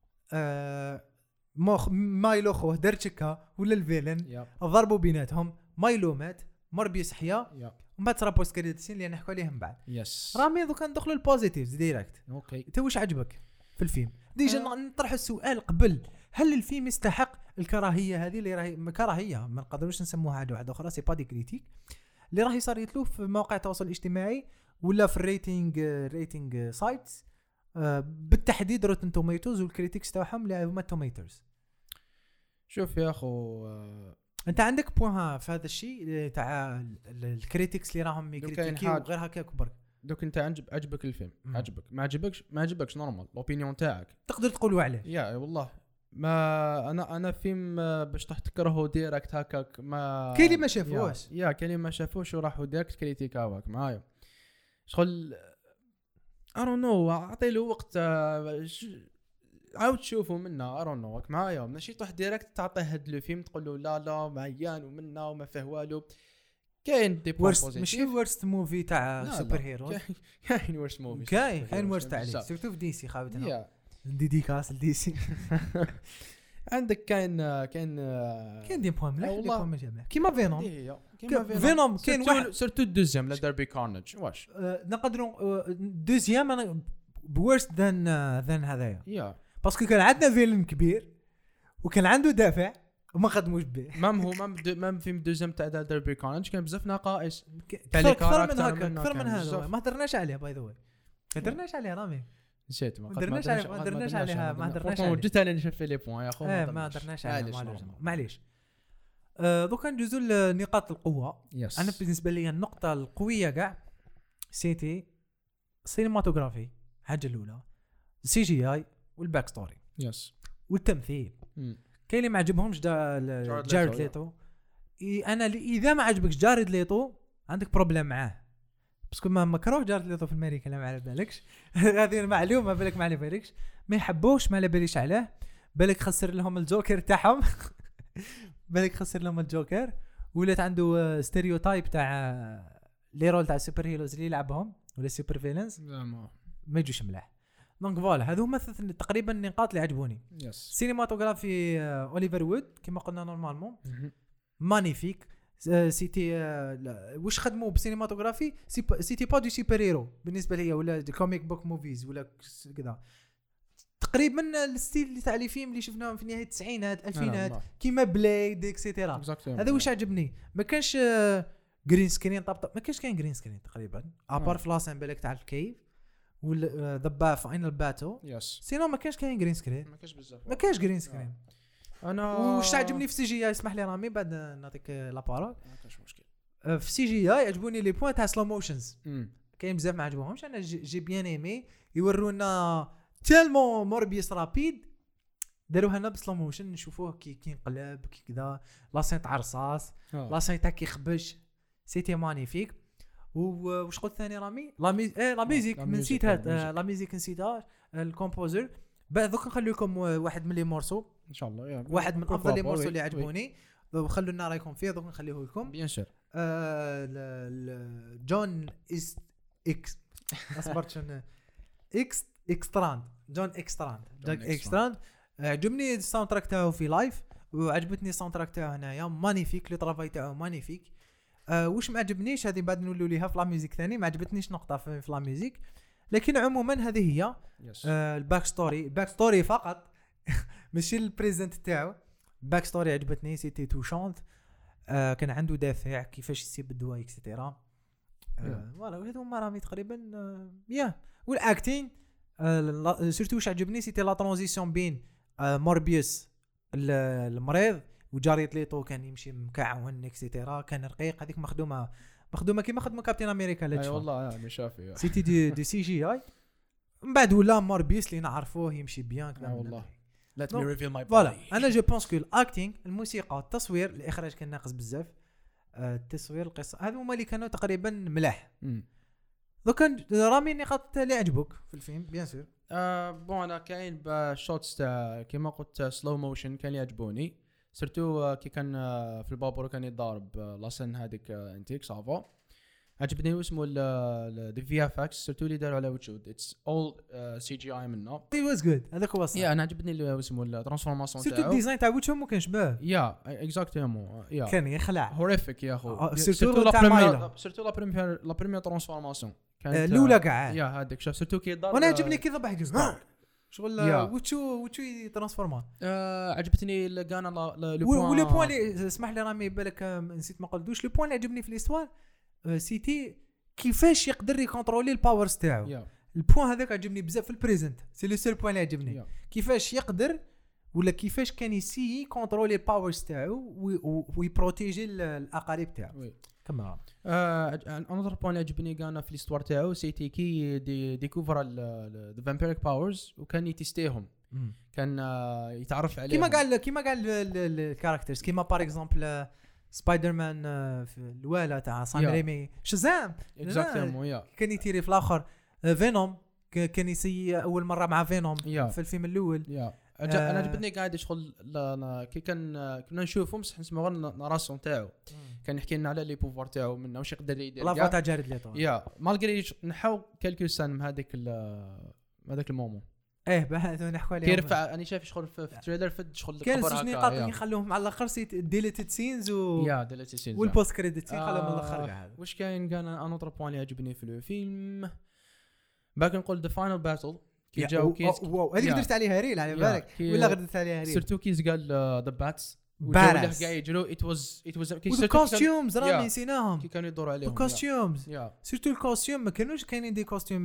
آه مخ مايلو خوه دار تشكا ولا الفيلن yeah. ضربوا بيناتهم مايلو مات موربيوس حيا yeah. ومن بعد صرا بوست كريديتسين اللي نحكوا عليهم بعد. يس رامي دوكا ندخلوا البوزيتيفز ديريكت. اوكي انت واش عجبك في الفيلم ديجا أه. نطرح السؤال قبل هل الفيلم يستحق الكراهيه هذه اللي راهي كراهيه ما نقدروش نسموها حاجه واحده اخرى سي با دي كريتيك اللي راهي صارت له في مواقع التواصل الاجتماعي ولا في الريتينغ ريتينغ سايتس أه بالتحديد روتن توميتوز والكريتيكس تاعهم اللي هما توميتوز. شوف يا اخو أه انت عندك بوين في هذا الشيء تاع الكريتيكس اللي راهم يكريتيكي وغير هكا كبر دوك انت عجب عجبك الفيلم مم. عجبك ما عجبكش ما عجبكش نورمال الاوبينيون تاعك تقدر تقولوا عليه يا والله ما انا انا فيلم باش تكرهه ديريكت هكاك ما كاين اللي ما شافوش يا كاين اللي ما شافوش وراحوا ديريكت كريتيكاوك معايا شغل I don't know اعطي له وقت عاود تشوفوا منا I don't know معايا ماشي تروح ديريكت تعطيه هاد لو فيلم تقول له لا لا معيان ومنا وما فيه والو. كاين دي بوزيتيف ماشي ورست موفي تاع سوبر هيرو كاين ورست موفي كاين كاين ورست عليه سورتو في دي سي خاوتنا ديديكاس لدي سي. عندك كاين كاين كاين دي بوين مليح دي بوين ماشي مليح كيما فينوم فينوم كاين واحد سورتو الدوزيام لا داربي كارنج واش نقدروا دوزيام بورست ذان ذان هذايا يا باسكو كان عندنا فيلم كبير وكان عنده دافع وما خدموش به مام هو مام مام فيلم دوزيام تاع داربي كارنج كان بزاف نقائص اكثر من هكا اكثر من هذا ما هدرناش عليه باي ذا واي ما هدرناش عليه رامي نسيت ما هدرناش عليه ما هدرناش عليها ما هدرناش عليه جيت انا نشوف لي بوين يا اخو ما هدرناش عليه معليش دوكا ندوزو لنقاط القوه. انا بالنسبه لي النقطه القويه كاع سيتي سينماتوغرافي حاجه الاولى سي جي اي والباك ستوري يس والتمثيل. كاين اللي ما عجبهمش جارد ليتو انا اذا ما عجبكش جارد ليتو عندك بروبليم معاه باسكو ما مكروه جارد ليتو في امريكا لا ما على بالكش هذه المعلومه بالك ما على بالكش ما يحبوش ما على باليش عليه بالك خسر لهم الجوكر تاعهم بالك خسر لهم الجوكر ولات عنده ستيريوتايب تاع لي رول تاع السوبر هيروز اللي يلعبهم ولا السوبر فيلنز ما ما يجوش ملاح. دونك فوالا هذو هما تقريبا النقاط اللي عجبوني. يس سينماتوغرافي اوليفر وود كما قلنا نورمالمون مانيفيك. سيتي واش خدموا بسينماتوغرافي سيتي با دو سوبر هيرو بالنسبه ليا ولا دي كوميك بوك موفيز ولا كذا تقريبا الستيل اللي تاع لي فيلم اللي شفناهم في نهايه التسعينات الألفينات كيما بلايد اكسيتيرا. هذا واش عجبني ما كانش جرين سكرين طبطب ما كانش كاين جرين سكرين تقريبا ابار فلاسين بالك تاع الكيف ولا ذا فاينل باتو يس سينو ما كانش كاين جرين سكرين ما كانش بزاف ما كانش جرين سكرين. انا واش تعجبني في سي جي اي اسمح لي رامي بعد نعطيك لابارول. ما كاش مشكل في سي جي اي عجبوني لي بوين تاع سلو موشنز كاين بزاف ما عجبوهمش. انا جي بيان ايمي يورونا تيلمون موربيس رابيد داروها لنا بسلو موشن نشوفوه كي كينقلب كي كذا لاسين تاع رصاص لاسين تاع كيخبش سيتي مانيفيك. واش قلت ثاني رامي لا مي ايه لا ميوزيك نسيتها لا ميوزيك نسيتها الكومبوزر. بعد دوك نخلي لكم واحد من لي مورسو ان شاء الله يعني واحد من افضل لي مورسو اللي عجبوني خلوا لنا رايكم فيه دوك نخليه لكم بيان سور. جون اس اكس اصبرت شنو اكس اكستراند جون اكستراند جون اكستراند عجبني الساوند تراك تاعو في لايف وعجبتني الساوند تراك تاعو هنايا مانيفيك لو طرافاي تاعو مانيفيك. أه واش ما عجبنيش هذه بعد نولوا ليها في لا ميوزيك ثاني ما عجبتنيش نقطه في, في لا ميوزيك لكن عموما هذه هي أه الباك ستوري الباك ستوري فقط ماشي البريزنت تاعو. الباك ستوري عجبتني سيتي توشونت أه كان عنده دافع كيفاش يسيب الدواء اكسيتيرا فوالا هذو هما رامي تقريبا أه يا والاكتين أه سورتو واش عجبني سيتي لا ترانزيسيون بين أه موربيوس المريض وجاريت ليتو كان يمشي مكعون اكسيتيرا كان رقيق هذيك مخدومه مخدومه كيما خدمه كابتن امريكا لا اي والله يعني شافي سيتي دي, دي سي جي اي من بعد ولا موربيوس اللي نعرفوه يمشي بيان كذا والله ليت مي ريفيل ماي فوالا. انا جو بونس كو الاكتينغ الموسيقى التصوير الاخراج كان ناقص بزاف التصوير القصه هذو هما اللي كانوا تقريبا ملاح. دو كان رامي النقاط اللي عجبوك في الفيلم بيان سور. اه بون انا كاين بشوتس تاع كيما قلت سلو موشن كان يعجبوني سيرتو كي كان في البابور كان يضارب لاسن هذيك انتيك صافا عجبني اسمه ال في اف اكس سيرتو اللي داروا على وجود اتس اول سي جي اي منه ات واز جود هذاك هو صح. يا انا عجبني اسمه الترانسفورماسيون تاعو سيرتو الديزاين تاع وجههم ما كانش باه يا اكزاكتومون يا كان يخلع هوريفيك يا اخو سيرتو لا بريمير سيرتو لا بريمير لا بريمير ترانسفورماسيون كانت الاولى كاع يا هذيك شوف سيرتو كي ضرب وانا عجبني كي ضبح جزء شغل وتشو وتشو ترانسفورما آه عجبتني لقانا لو بوين ولو بوين اللي اسمح لي رامي بالك نسيت ما قلتوش لو بوين اللي عجبني في ليستوار سيتي كيفاش يقدر يكونترولي الباورز تاعو yeah. البوين هذاك عجبني بزاف في البريزنت سي لو سول بوين اللي عجبني yeah. كيفاش يقدر ولا كيفاش كان يسي كونترولي الباورز تاعو ويبروتيجي الاقارب تاعو oui. كما انذر بوين عجبني كان في ليستوار تاعو سيتي كي دي ديكوفر ذا فامبيريك باورز وكان يتستيهم كان يتعرف عليهم كيما قال كيما قال الكاركترز كيما بار اكزومبل سبايدر مان في الوالا تاع سام ريمي شزام اكزاكتومون يا كان يتيري في الاخر فينوم كان يسي اول مره مع فينوم في الفيلم الاول يا انا عجبتني قاعد يشغل كي كان كنا نشوفهم بصح نسمعوا الراسون تاعو كان يحكي لنا على لي بوفوار تاعو منه واش يقدر يدير لا فاتا جارد ليتو يا مالغري نحاو كالكو سان من هذاك هذاك المومون ايه بعد نحكوا عليه كيرفع انا شايف شغل في التريلر فد شغل كان زوج نقاط يخلوهم على الاخر سيت ديليتد سينز و يا ديليتد سينز والبوست كريديت سين خلوهم على الاخر كاع هذا واش كاين كان انا اوتر بوين اللي عجبني في الفيلم باقي نقول ذا فاينل باتل كي جاو كيس واو هذيك درت عليها ريل على بالك ولا درت عليها ريل سيرتو كيز قال ذا باتس ولا قاعد يجرو ات واز ات واز الكوستيومز راه نسيناهم كي كانوا يدوروا عليهم الكوستيومز سيرتو الكوستيوم ما كانوش كاينين دي كوستيوم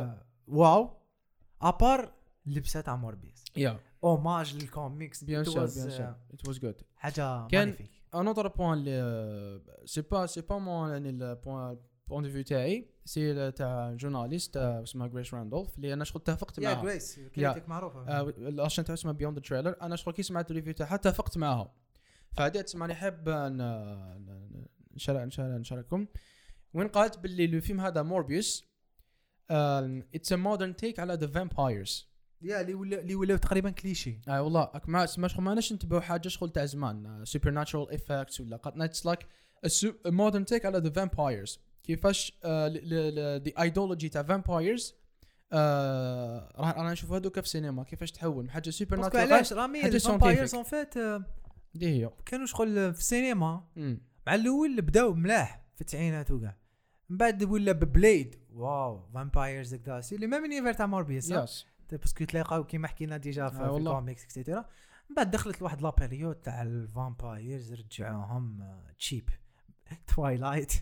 واو ابار لبسه تاع موربيس يا اوماج للكوميكس بيان سور بيان سور ات واز جود حاجه كان ان اوتر بوين اللي سي با سي با مون يعني البوين بوين دو فيو تاعي سي تاع جورناليست اسمها غريس راندولف اللي انا شغل اتفقت معها يا غريس كلمتك معروفه الاشن تاع اسمها بيوند ذا تريلر انا شغل كي سمعت الريفيو تاعها اتفقت معها فهذه تسمعني حاب نشارك نشارك نشارككم وين قالت باللي الفيلم هذا موربيوس اتس ا مودرن تيك على ذا فامبايرز يا اللي ولا اللي ولاو تقريبا كليشي اي آه والله ما ما شغل ما ناش نتبعوا حاجه شغل تاع زمان سوبر ناتشرال افكتس ولا قد نتس لايك ا مودرن تيك على ذا فامبايرز كيفاش دي ايديولوجي تاع فامبايرز راح انا نشوف هذوك في السينما كيفاش تحول من حاجه سوبر ناتشورال علاش رامي الفامبايرز اون فيت دي هي كانوا شغل في السينما مع الاول بداو ملاح في التسعينات وكاع من بعد ولا ببليد واو فامبايرز هكذا سي لي ميم يونيفير تاع موربيوس يس باسكو تلاقاو كيما حكينا ديجا في الكوميكس اكسيتيرا من بعد دخلت لواحد لا بيريود تاع الفامبايرز رجعوهم تشيب توايلايت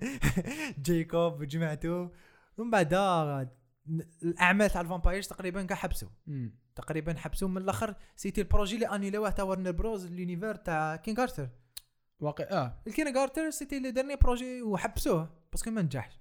جيكوب وجماعته ومن بعد الاعمال تاع الفامبايرز تقريبا كاع حبسوا تقريبا حبسوا من الاخر سيتي البروجي اللي انيلوه تاع ورنر بروز لونيفير تاع كين كارتر واقع اه الكين كارتر سيتي لي ديرني بروجي وحبسوه باسكو ما نجحش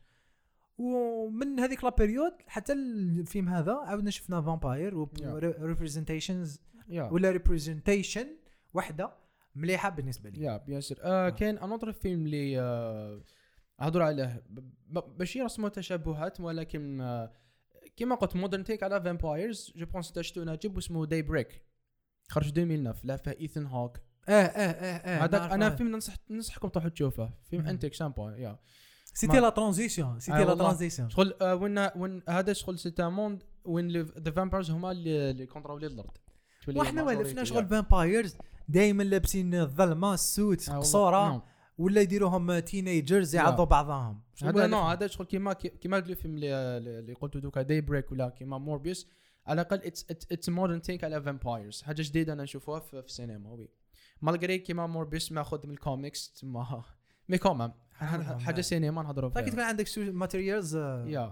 ومن هذيك لا بيريود حتى الفيلم هذا عاودنا شفنا فامباير و ريبريزنتيشنز ولا ريبريزنتيشن وحده مليحه بالنسبه لي يا بيان سير آه كاين انوتر فيلم اللي آه هضر عليه ماشي رسمه تشابهات ولكن آه كما قلت مودرن تيك على فامبايرز جو بونس تشتو ناجب اسمه داي بريك خرج ألفين وتسعة لا فيه ايثن هوك اه اه اه هذاك انا فيلم ننصح ننصحكم تروحوا تشوفه فيلم انتيك سامبا يا سيتي لا ترانزيسيون سيتي لا ترانزيسيون شغل آه وين وين هذا شغل سيت موند وين ذا فامبايرز هما اللي كونترولي الارض واحنا ولفنا شغل فامبايرز دائما لابسين الظلمه السوت قصوره ولا يديروهم تينيجرز يعضوا بعضهم هذا نو هذا شغل كيما كيما قالوا الفيلم اللي قلت دوكا داي بريك ولا كيما موربيوس على الاقل اتس اتس مودرن تيك على فامبايرز حاجه جديده انا نشوفوها في السينما وي مالغري كيما موربيوس ماخذ من الكوميكس تما مي كومام حاجه سينما نهضروا فيها فكي تكون عندك ماتيريالز يا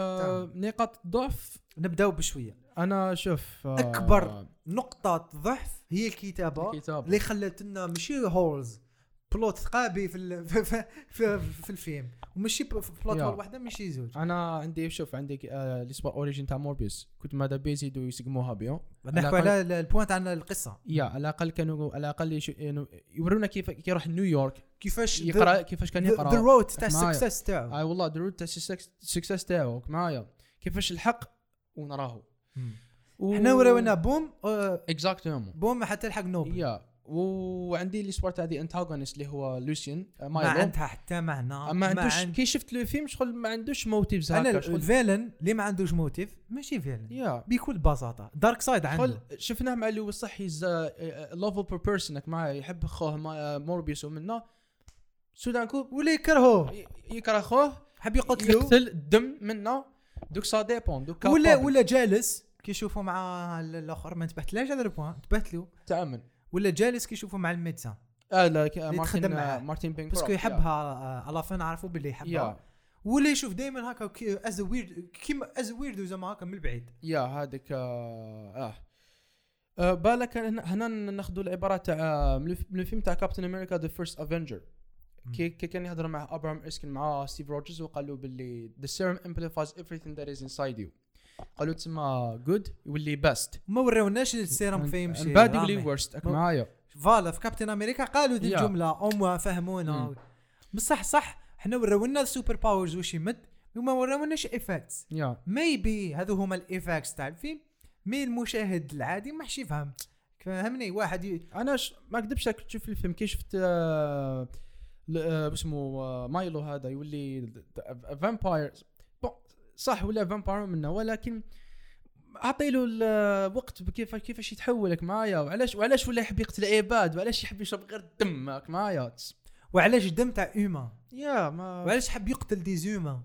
نقاط ضعف نبداو بشويه انا شوف اكبر نقطه ضعف هي الكتابه, الكتابة. اللي خلت لنا ماشي هولز بلوت ثقابي في في في, في, في الفيلم وماشي بلوت هول واحده ماشي زوج انا عندي شوف عندي آه لي سبور اوريجين تاع موربيوس كنت ماذا بيزيدوا يسقموها بيو نحكوا على البوينت عن القصه يا على الاقل كانوا على الاقل يورونا كيف كي يروح نيويورك كيفاش يقرا كيفاش كان يقرا ذا رود تاع السكسس تاعو اي والله ذا رود تاع السكسس تاعو معايا كيفاش الحق ونراه احنا وراونا بوم اكزاكتومون بوم حتى الحق نوبل يا وعندي لي سبورت هذه انتاغونست اللي هو لوسيان ما عندها حتى معنى ما عندوش عند... كي شفت لو فيلم شغل ما عندوش موتيفز هكا شغل الفيلن اللي ما عندوش موتيف ماشي فيلن yeah. بكل بساطه دارك سايد عنده شفناه مع اللي صحي لوفل بير بيرسون معاه يحب خوه موربيوس ومنه سودانكو ولا يكرهوه يكره خوه حب يقتلو يقتل الدم منه دوك سا ديبون دوك ولا ولا جالس كي يشوفوا مع الاخر ما انتبهتلاش هذا البوان انتبهت له تامن ولا جالس كي يشوفوا مع الميدسان اه لا مارتين مارتين بينك باسكو يحبها على فين عرفوا باللي يحبها ولا يشوف دائما هكا از ويرد كيما از ويرد زعما هكا من البعيد يا هذاك اه, آه بالك هنا ناخذوا العباره تاع من الفيلم تاع كابتن امريكا ذا فيرست افنجر كي كان يهضر مع ابراهام اسكن مع ستيف روجرز وقال له باللي the serum amplifies everything that is inside you قالوا تسمى good يولي best ما وراوناش السيرم فين يمشي باد يولي ورست معايا فوالا في كابتن امريكا قالوا دي الجمله ام فهمونا بصح صح احنا وراونا السوبر باورز واش يمد وما وراوناش ايفاكتس ميبي هذو هما الايفاكتس تاع الفيلم مي المشاهد العادي ما حش يفهم فهمني واحد ي... انا ش... ما كذبش تشوف الفيلم كي شفت آه... آه... اسمه آه... مايلو هذا يولي فامباير صح ولا فامباير منه ولكن اعطيله الوقت كيف كيفاش يتحولك معايا وعلاش وعلاش ولا يحب يقتل عباد وعلاش يحب يشرب غير الدم معايا وعلاش الدم تاع اوما يا ما وعلاش حب يقتل دي زوما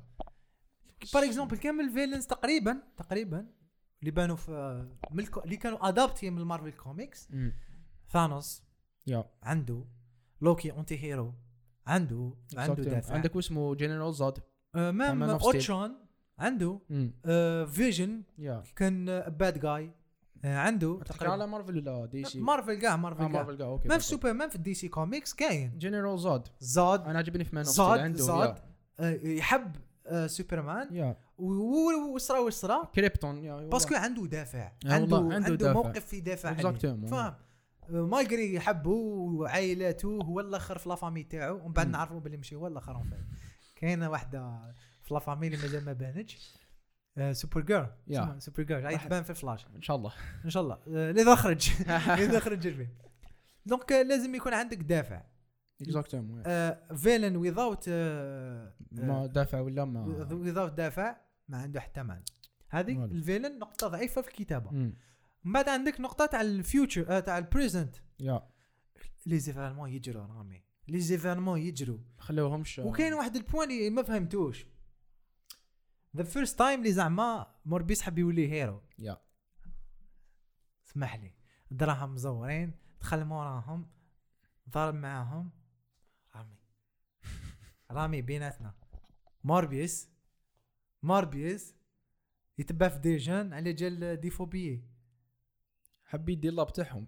بار اكزومبل كامل الفيلنز تقريبا تقريبا اللي بانوا في ملك... اللي كانوا ادابتي من المارفل كوميكس ثانوس يا عنده لوكي اونتي هيرو عنده عنده دافع عندك اسمه جنرال زاد آه مام اوتشون عنده آه فيجن yeah. كان باد جاي آه عنده تقريبا على مارفل ولا دي سي مارفل كاع مارفل كاع مارفل كاع اوكي ما في سوبر مان في الدي سي كوميكس كاين جنرال زاد زاد انا عجبني في مان اوف ستيل عنده زاد آه يحب آه سوبرمان yeah. وصرا وصرا كريبتون باسكو عنده دافع عنده عنده, عنده عنده موقف يدافع عليه فاهم مالغري يحبه وعائلاته هو الاخر في لا فامي تاعو ومن بعد نعرفوا باللي ماشي هو الاخر كاينه واحده في لا فامي اللي مازال ما بانتش سوبر جيرل yeah. سوبر جيرل راح تبان في فلاش ان شاء الله ان شاء الله اذا خرج اذا خرج الفيلم دونك لازم يكون عندك دافع اكزاكتومون فيلن ويزاوت ما دافع ولا ما ويزاوت دافع ما عنده حتى معنى. هذه الفيلن نقطه ضعيفه في الكتابه. من بعد عندك نقطه تاع الفيوتشر تاع البريزنت يا لي زيفيرمون يجروا رامي لي زيفيرمون يجروا خلوهمش. وكاين واحد البوان اللي ما فهمتوش ذا فيرست تايم اللي زعما موربيس حب يولي هيرو يا اسمح لي دراهم مزورين دخل موراهم ضرب معاهم رامي رامي بيناتنا موربيس موربيس يتبع في ديجان على جال ديفوبيه حب يدير لاب تاعهم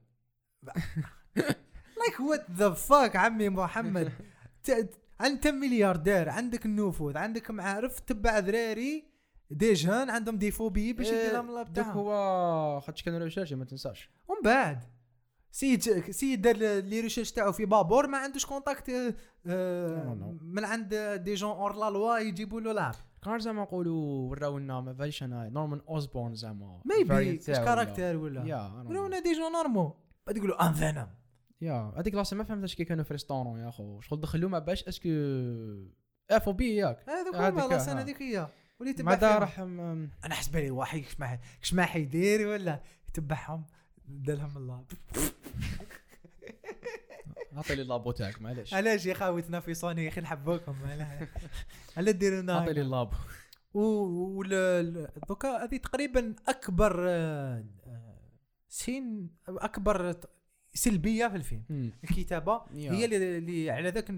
لايك وات ذا فاك عمي محمد. انت ملياردير عندك النفوذ عندك معارف تبع ذراري ديجان عندهم ديفوبيه باش يدير لهم لاب تاعهم. هو خاطش كان ريشيرش ما تنساش. ومن بعد سيد سيد دار لي ريشيرش تاعو في بابور ما عندوش كونتاكت آه من عند دي جون اور لا لوا يجيبوا له لعب. كان زعما نقولوا وراونا ما فايش انا نورمان اوزبورن زعما ميبي كاركتر ولا يا وراونا دي جون نورمو بعد يقولوا ان فينوم يا هذيك لاصه ما فهمتش كي كانوا في ريستورون يا اخو شغل دخلوا ما باش اسكو افو بي ياك هذوك هما لاصه هذيك هي ولي تبع ماذا راح انا حسب لي واحد كش كش ما حيدير ولا يتبعهم دالهم اللاب. عطي لي اللابو تاعك معليش علاش يا خاوتنا في صوني يا اخي نحبوكم على ديرونا عطي لي اللاب. و دوكا هذه تقريبا اكبر سين اكبر سلبيه في الفيلم. م. الكتابه هي اللي, اللي على ذاك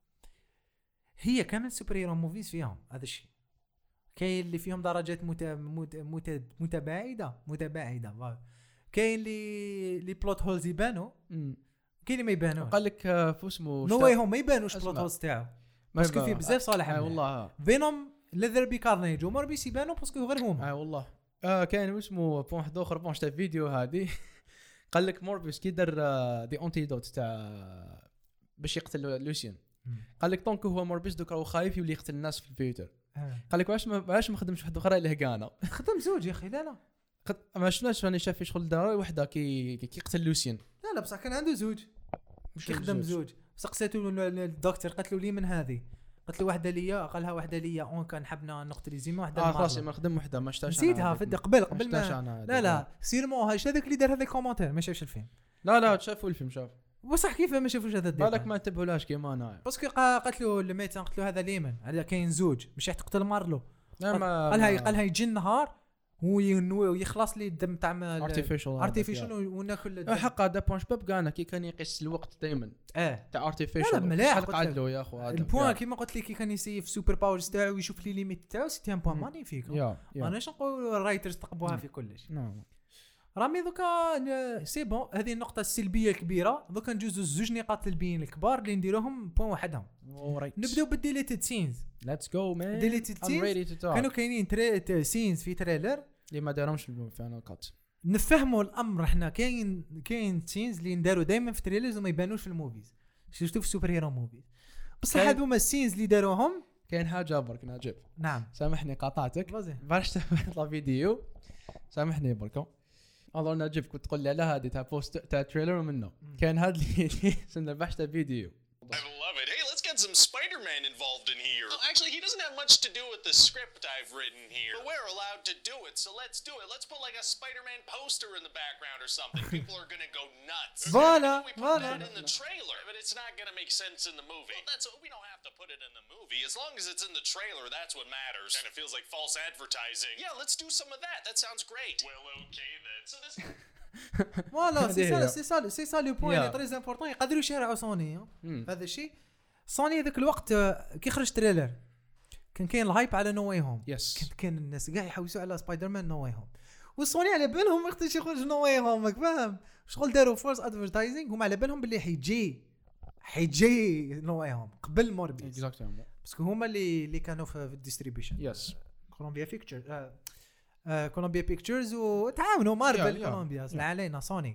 هي كامل سوبر هيرو موفيز فيهم هذا الشيء. كاين اللي فيهم درجات مت... مت... مت... متباعده متباعده كاين اللي لي بلوت هولز يبانوا كاين اللي ما يبانوش. قال لك فو اسمه نو واي هوم ما يبانوش بلوت هولز تاعو باسكو فيه بزاف صالح. اه والله فينوم ليذر بي كارنيج وموربيس يبانوا باسكو غير هما. اه والله اه كاين اسمه بون واحد اخر بون شتا فيديو هذه قال لك موربيس كي دار دي انتيدوت تاع باش يقتل لوسيان قال لك طونك هو موربيس دوك راهو خايف يولي يقتل الناس في الفيوتر. قال لك واش ما واش ما خدمش واحد اخرى اللي هكانا خدم زوج يا اخي. لا لا ما شفناش راني شاف في شغل دار وحده كي كي يقتل لوسيان. لا لا بصح كان عنده زوج مش يخدم زوج. سقسيتو الدكتور قالت له لي من هذه قلت له واحده ليا قالها واحده ليا اون كان حبنا نقتل زيما واحده اه خلاص ما خدم وحده ما شتاش نسيتها في قبل قبل ما لا لا سيرمون هاش هذاك اللي دار هذا الكومونتير ما شافش الفيلم. لا لا شافوا الفيلم شاف بصح كيف ما شافوش هذا الدير بالك ما انتبهولاش كيما انا باسكو قالت له الميتان قلت له هذا ليمن هذا كاين زوج مش راح تقتل مارلو. قالها قالها يجي النهار ويخلص لي الدم تاع ارتيفيشال ارتيفيشال وناكل حق هذا بونش باب كان كي كان يقيس الوقت دائما اه تاع ارتيفيشال مليح قعد له يا اخو هذا البوان كيما قلت لك كي كان يسيف سوبر باورز تاعو ويشوف لي ليميت تاعو سيتي ان بوان مانيفيك. ماناش نقول الرايترز تقبوها في كلش. نعم رامي دوكا سي بون هذه النقطه السلبيه الكبيره. دوكا نجوزو زوج نقاط سلبيين الكبار اللي نديروهم بوان وحدهم. نبداو بالديليتد سينز. ليتس جو مان ديليتد سينز كانوا كاينين تري سينز في تريلر اللي ما داروهمش في الفاينل كات. نفهموا الامر احنا كاين كاين سينز اللي نداروا دائما في تريلرز وما يبانوش في الموفيز شفتوا في سوبر هيرو موفيز بصح هذوما السينز اللي داروهم كاين حاجه برك نجيب. نعم سامحني قاطعتك باش تطلع فيديو سامحني برك الله نجيب كنت تقول لي على هذه تاع بوست تاع تريلر منه كان هذا اللي سنة بحث فيديو. I love it. Hey, let's get some Spider-Man involved in here. Oh, actually, he doesn't have much to do with the script I've written here. But we're allowed to do it, so let's do it. Let's put like a Spider-Man poster in the background or something. People are gonna go nuts. Voila, we put voila. that in the trailer, but it's not gonna make sense in the movie. Well, that's we don't have to put it in the movie. As long as it's in the trailer, that's what matters. And it feels like false advertising. Yeah, let's do some of that. That sounds great. Well, okay then. So this. فوالا سي سا سي سا سي سا لو بوين اللي تري امبورطون يقدروا يشارعوا سوني هذا الشيء. سوني هذاك الوقت كي خرج تريلر كان كاين الهايب على نو واي هوم. كان كان الناس كاع يحوسوا على سبايدر مان نو واي هوم والسوني على بالهم وقت يخرج نو واي هوم فاهم شغل داروا فورس ادفرتايزينغ هم على بالهم باللي حيجي حيجي نو واي هوم قبل موربيس اكزاكتومون باسكو هما اللي اللي كانوا في الديستريبيوشن يس كولومبيا بيكتشر كولومبيا بيكتشرز وتعاونوا مارفل كولومبيا لا علينا سوني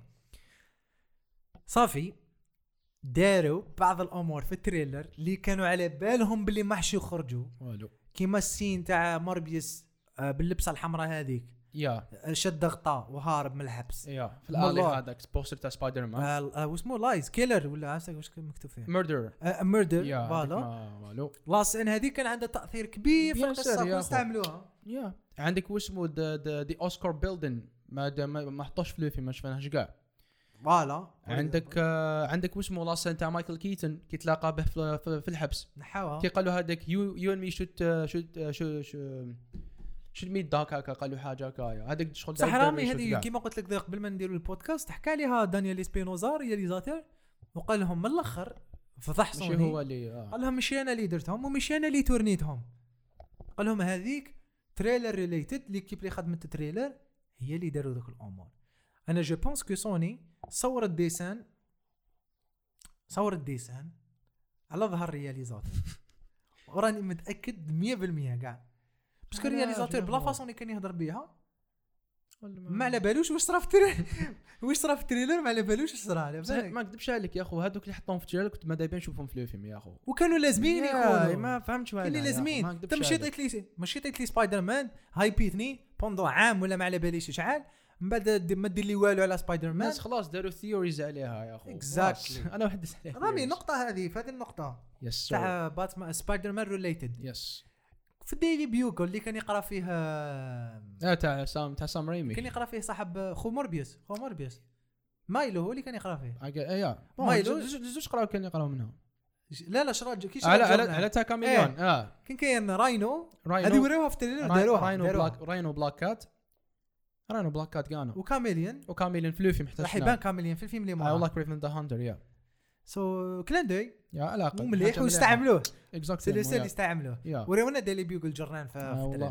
صافي داروا بعض الامور في التريلر اللي كانوا على بالهم باللي ما حش يخرجوا والو كيما السين تاع موربيس باللبسه الحمراء هذيك يا شد غطاء وهارب من الحبس. يا في الالي هذاك بوستر تاع سبايدر مان آه واسمه لايز كيلر ولا عارف واش مكتوب فيه ميردر ميردر فوالا. لاست ان هذه كان عندها تاثير كبير في القصه واستعملوها. يا عندك واسمه دي اوسكار بيلدن ما ما حطوش في الفيلم ما شفناهش كاع فوالا. عندك آه عندك واسمه لاست تاع مايكل كيتن كي تلاقى به في, في الحبس نحاوها كي قالوا هذاك يو يو مي شوت شوت شو شو شو ميت داك هكا قالوا حاجه هكايا هذاك شغل صح رامي هذه كيما قلت لك قبل ما نديروا البودكاست حكى ليها دانيال اسبينوزا رياليزاتور وقال لهم من الاخر فضح سوني هو اللي آه. قال لهم ماشي انا اللي درتهم وماشي انا اللي تورنيتهم. قال لهم هذيك تريلر ريليتد اللي كيف اللي خدمت التريلر هي اللي داروا ذوك الامور. انا جو بونس كو سوني صورت ديسان صورت ديسان على ظهر رياليزاتور وراني متاكد مية بالمية كاع باسكو الرياليزاتور بلا فاصون اللي كان يهضر بها ما على بالوش واش صرا في التريلر واش صرا في التريلر ما على بالوش واش صرا. ما نكذبش عليك يا اخو هذوك اللي حطوهم في التريلر كنت ما دايبين نشوفهم في الفيلم يا اخو وكانوا لازمين يكونوا ما فهمتش واش اللي لازمين. انت مشيت قلت لي مشيت قلت لي سبايدر مان هايبيتني بوندو عام ولا ما على باليش شحال من بعد ما دير لي والو على سبايدر مان الناس خلاص داروا ثيوريز عليها يا اخو اكزاكتلي. انا واحد عليها رامي النقطه هذه في هذه النقطه تاع باتمان سبايدر مان ريليتد يس في الديلي بيوكل اللي كان يقرا فيه اه تاع سام تاع سام ريمي كان يقرا فيه صاحب خو موربيوس خو موربيوس مايلو هو اللي كان يقرا فيه ايا مايلو زوج قراو كان يقراو منها لا لا شراج كي على على على تاع كاميليون اه كان كاين راينو هذه وراوها في التريلر داروها راينو بلاك راينو بلاك كات راينو بلاك كات كانوا وكاميليون وكاميليون في الفيلم حتى راح يبان كاميليون في الفيلم اللي ما والله كريفن ذا هانتر يا سو كلاندي يا علاقه مليح واستعملوه اكزاكتلي سي اللي استعملوه وراونا ديلي بيوكل جرنان في التريلر.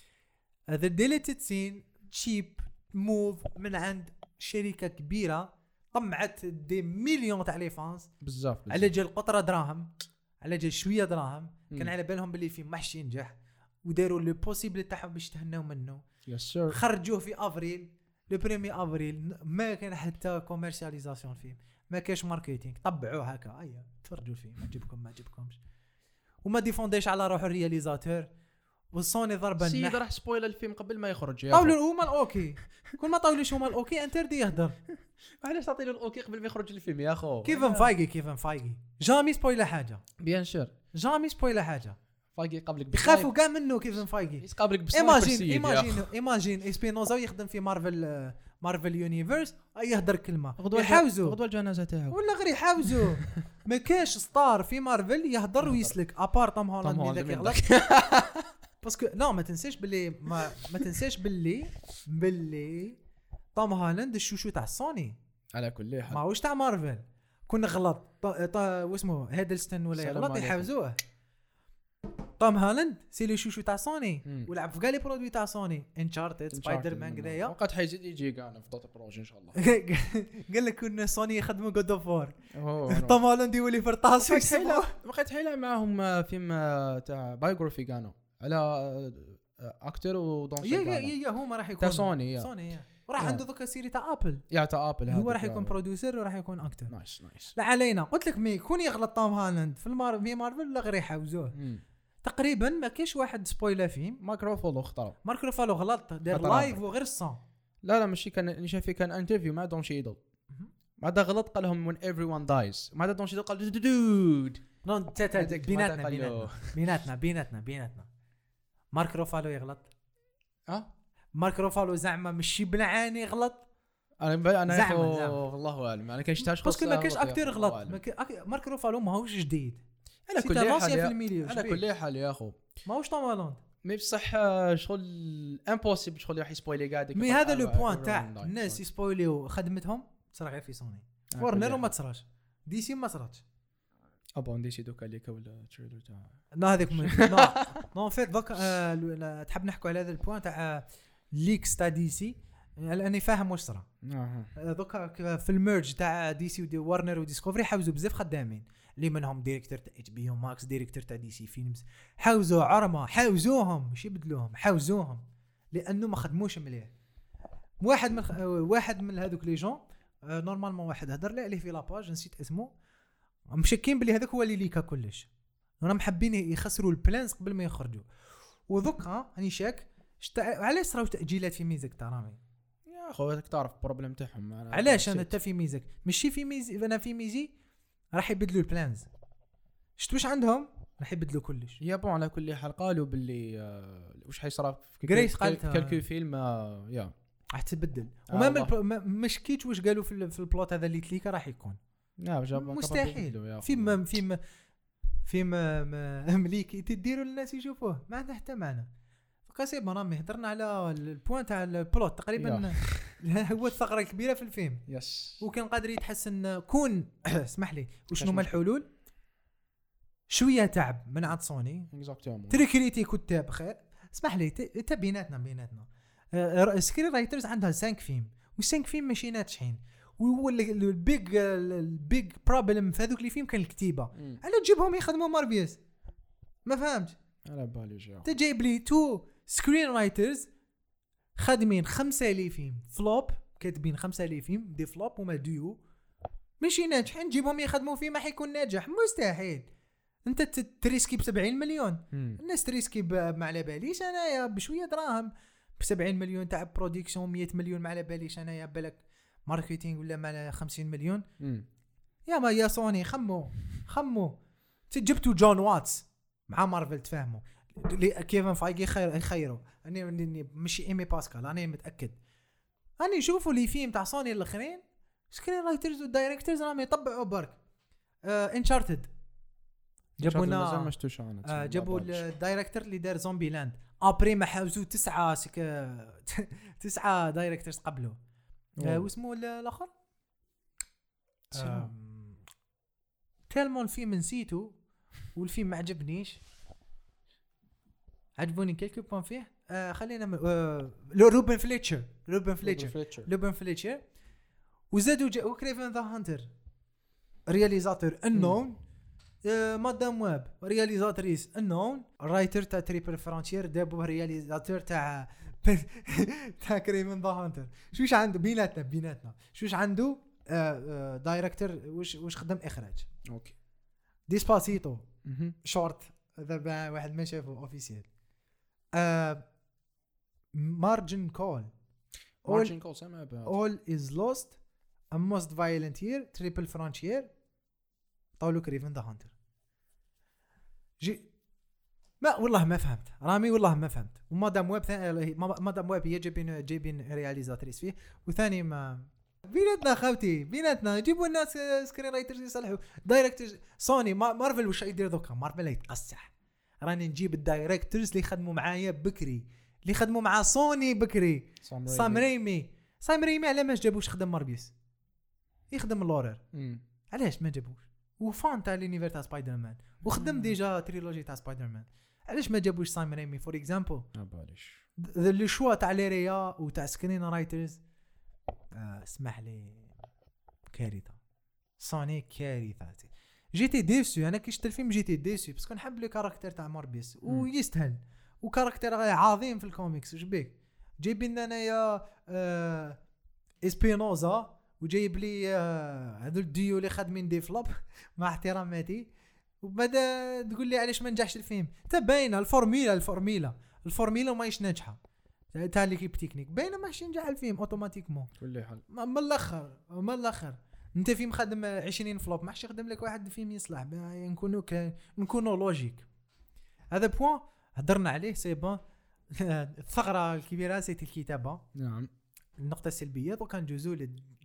هذا ديليتد سين تشيب موف من عند شركه كبيره طمعت دي مليون تاع لي فانس بزاف على جال قطره دراهم على جال شويه دراهم كان على بالهم باللي فيه محشي ينجح وداروا لو بوسيبل تاعهم باش تهناو منه. يس خرجوه في افريل لو بريمي افريل ما كان حتى كوميرسياليزاسيون فيه ما كاش ماركتينغ طبعوه هكا ايا تفرجوا فيه ما عجبكم ما عجبكمش وما ديفونديش على روحو الرياليزاتور والصوني ضربه النح سيد راح سبويل الفيلم قبل ما يخرج طاولوا هما الاوكي كل ما طاولوش هما الاوكي انتردي يهضر علاش تعطي له الاوكي قبل ما يخرج الفيلم يا اخو كيفن فايغي كيفن فايغي جامي سبويل حاجه بيان شور جامي سبويل حاجه فايغي قبلك بخافوا كاع منه كيفن فايغي يقابلك بسنايبر ايماجين ايماجين ايماجين اسبينوزا يخدم في مارفل مارفل يونيفرس يهدر كلمه يحاوزوا غدوه الجنازه تاعو ولا غير يحاوزوا ما كاش ستار في مارفل يهدر ويسلك ابار توم هولاند اللي يغلط باسكو لا ما تنساش باللي ما, ما تنساش باللي باللي توم هولاند الشوشو تاع سوني على كل حال ماهوش تاع مارفل كون غلط واسمه هيدلستون ولا يغلط يحاوزوه. توم هالاند سي لي شوشو تاع سوني ولعب في كاع لي برودوي تاع سوني انشارتد سبايدر مان كذايا وقت حيزيد يجي كاع في دوت بروجي ان شاء الله. قال لك كنا سوني يخدموا جود اوف وور توم هالاند يولي في الطاس ويسموه وقت حيله معاهم فيلم تاع بايوغرافي كانوا على اكتر ودونسر يا يا يا هما راح يكون سوني سوني وراح عنده ذوك سيري تاع ابل يا تاع ابل هو راح يكون بروديوسر وراح يكون اكتر نايس نايس. لا علينا قلت لك مي يكون يغلط توم هالاند في المارفل مارفل لا غير يحاوزوه تقريبا ما كاينش واحد سبويلر فيه. مارك روفالو اختار مارك روفالو غلط دار لايف وغير الصون لا لا ماشي كان شايف كان انترفيو مع دون شيدل بعد غلط قال لهم when everyone dies بعد دون شيدل قال دود نون بيناتنا بيناتنا بيناتنا بيناتنا بيناتنا مارك روفالو يغلط اه مارك روفالو زعما ماشي بنعاني غلط انا انا والله اعلم انا كاين شتاش باسكو ما كاينش اكتور غلط مارك روفالو ماهوش جديد على كل حال على كل حال يا اخو ماهوش توم هولاند مي بصح شغل امبوسيبل شغل راح يسبويلي قاعد مي هذا لو بوين تاع الناس يسبويليو خدمتهم تصرا غير في سوني ورنر وما تصراش دي سي ما صراتش ابون دي سي دوكا ليك ولا تريلر تاع لا هذيك نو فيت دوك تحب نحكوا على هذا البوين تاع ليكس تاع دي سي لاني فاهم واش صرا دوكا في الميرج تاع دي سي ودي ورنر وديسكوفري حاوزوا بزاف خدامين اللي منهم ديريكتور تاع اتش بي او ماكس ديريكتور تاع دي سي فيلمز حاوزوا عرمه حاوزوهم ماشي بدلوهم حاوزوهم لانه ما خدموش مليح. واحد من واحد من هذوك لي جون نورمالمون واحد هضر لي عليه في لاباج نسيت اسمه مشكين بلي هذاك هو اللي ليكا كلش راهم حابين يخسروا البلانس قبل ما يخرجوا وذوك راني شاك شت... علاش راهو تاجيلات في ميزك ترامي يا خواتك تعرف بروبليم تاعهم. علاش انا حتى في ميزك ماشي في ميزي انا في ميزي راح يبدلوا البلانز شفت واش عندهم راح يبدلوا كلش. يا بون على كل حال قالوا باللي آه واش حيصرا في جريس قالتها كلكو فيلم آه يا راح تبدل آه وما مش كيت واش قالوا في, في البلوت هذا اللي تليكا راح يكون مستحيل فيما فيما فيما مليكي تديروا للناس يشوفوه ما عنده حتى معنى. قاسم رامي هضرنا على البوينت تاع البلوت تقريبا هو الثغره الكبيره في الفيلم يس وكان قادر يتحسن كون اسمح لي وشنو هما الحلول شويه تعب من عند سوني تريكريتي كتاب خير اسمح لي تا بيناتنا بيناتنا سكرين رايترز عندها خمسة فيلم و5 فيلم ماشي ناجحين وهو البيج البيج بروبلم في هذوك لي فيلم كان الكتيبه على تجيبهم يخدموا مارفيوس ما فهمت على بالي جا تجيب لي تو سكرين رايترز خادمين خمسة لي فيلم فلوب كاتبين خمسة لي فيلم دي فلوب وما ديو ماشي ناجحين نجيبهم يخدموا فيه ما حيكون ناجح مستحيل. انت تريسكي ب سبعين مليون مم. الناس تريسكي ما على باليش انايا بشويه دراهم ب سبعين مليون تاع برودكسيون مية مليون ما على باليش انايا بالك ماركتينغ ولا مع خمسين مليون مم. يا ما يا سوني خمو خمو تجبتوا جون واتس مع مارفل تفهموا كيفن فايغي خير خيروا اني ماشي ايمي باسكال انا متاكد اني شوفوا لي فيلم تاع سوني الاخرين سكرين رايترز ودايركتورز راهم يطبعوا برك انشارتد جابوا لنا آه جابوا الدايركتور اللي دار زومبي لاند ابري ما حاوزوا تسعه سك... تسعه دايركتورز قبله آه واسمه الاخر آه تيلمون فيلم نسيتو والفيلم ما عجبنيش عجبوني كلكو بوان فيه آه خلينا م... آه روبن فليتشر روبن فليتشر روبن فليتشر وزادوا جاء كريفن ذا هانتر رياليزاتور انون آه مادام واب رياليزاتريس انون رايتر تاع تريبل فرانشير دابو رياليزاتور تاع تاع كريفن ذا هانتر شوش عنده بيناتنا بيناتنا شوش عنده آه آه دايركتور وش وش خدم اخراج اوكي ديسباسيتو شورت هذا واحد ما شافه اوفيسيال مارجن كول مارجن كول سمع بها all is lost a most violent year triple frontier طاولو كريفن ذا هانتر جي ما والله ما فهمت رامي والله ما فهمت ومادام ويب ثاني مادام ويب هي جايبين جايبين رياليزاتريس فيه وثاني ما بيناتنا خاوتي بيناتنا جيبوا الناس سكرين رايترز يصلحوا دايركتورز سوني مارفل واش يدير دوكا مارفل يتقصح راني نجيب الدايركتورز اللي يخدموا معايا بكري اللي يخدموا مع سوني بكري سام ريمي سام ريمي على ما جابوش خدم ماربيس يخدم اللورر علاش ما جابوش وفان تاع لينيفير تاع سبايدر مان وخدم ديجا تريلوجي تاع سبايدر مان علاش ما جابوش سام ريمي فور اكزامبل ما باليش لي شوا تاع ليريا وتاع سكرين رايترز اسمح لي كارثه سوني كارثه جيتي ديسو انا كي شفت الفيلم جيتي ديسو باسكو نحب لي كاركتير تاع ماربيس ويستاهل وكاركتير عظيم في الكوميكس واش بيك جايبين لنا يا آه اسبينوزا وجايب لي هذو آه الديو اللي خادمين دي فلوب مع احتراماتي وبدا تقول لي علاش ما نجحش الفيلم تباين الفورميلا الفورميلا الفورميلا ماهيش ناجحه تاع ليكيب تكنيك باينه ماشي نجح الفيلم اوتوماتيكمون كل حال من الاخر من الاخر انت فيلم خدم عشرين فلوب ماحش يخدم لك واحد فيلم يصلح نكونوا نكونوا لوجيك هذا بوين هضرنا عليه سي بون الثغره الكبيره سيتي الكتابه نعم النقطه السلبيه دوكا نجوزوا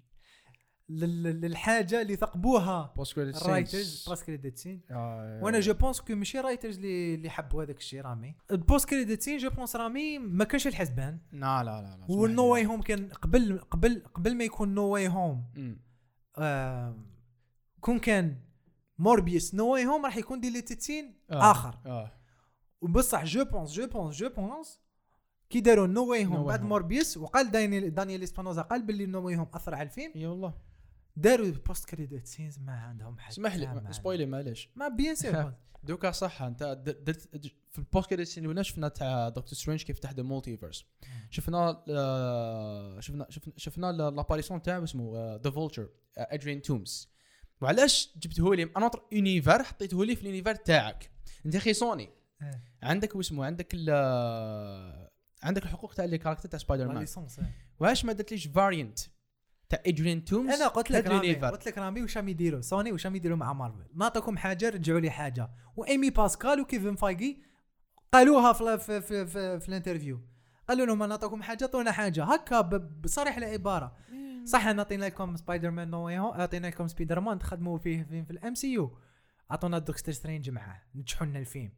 للحاجه اللي ثقبوها رايترز بوست كريديت سين وانا جو بونس كو ماشي رايترز اللي اللي حبوا هذاك الشيء رامي البوست كريديت سين جو بونس رامي ما كانش الحسبان لا لا لا والنو واي هوم كان قبل قبل قبل ما يكون نو واي هوم آه كون كان موربيوس نو واي هوم راح يكون ديليتد سين آه. اخر اه وبصح جو بونس جو بونس جو بونس كي داروا نو واي هوم بعد موربيوس وقال دانيال دانيال اسبانوزا قال باللي نو واي هوم اثر على الفيلم اي والله داروا بوست كريديت سينز ما عندهم حاجه اسمح لي سبويلي معليش ما بيان سير دوكا صح انت درت في البوست كريديت سين ولا شفنا تاع دكتور سترينج كيف تحت المولتيفيرس شفنا آه شفنا شفنا شفنا لاباريسيون تاعو اسمه ذا فولتشر ادريان تومز وعلاش جبته لي انا نطر يونيفر حطيته لي في اليونيفر تاعك انت اخي سوني عندك واسمه عندك عندك الحقوق تاع لي كاركتر تاع سبايدر مان واش ما درتليش فاريانت تاع ادريان تومز؟ انا قلت لك رامي قلت لك رامي واش راهم يديروا سوني واش راهم يديروا مع مارفل نعطيكم حاجه رجعوا لي حاجه وايمي باسكال وكيفن فايغي قالوها في في في, في, في الانترفيو قالوا لهم نعطيكم حاجه عطونا حاجه هكا بصريح العباره صح نعطينا لكم سبايدر مان نو واي هوم اعطينا لكم سبايدر مان تخدموا فيه في, في الام سي يو عطونا دكتور سترينج معاه نجحوا لنا الفيلم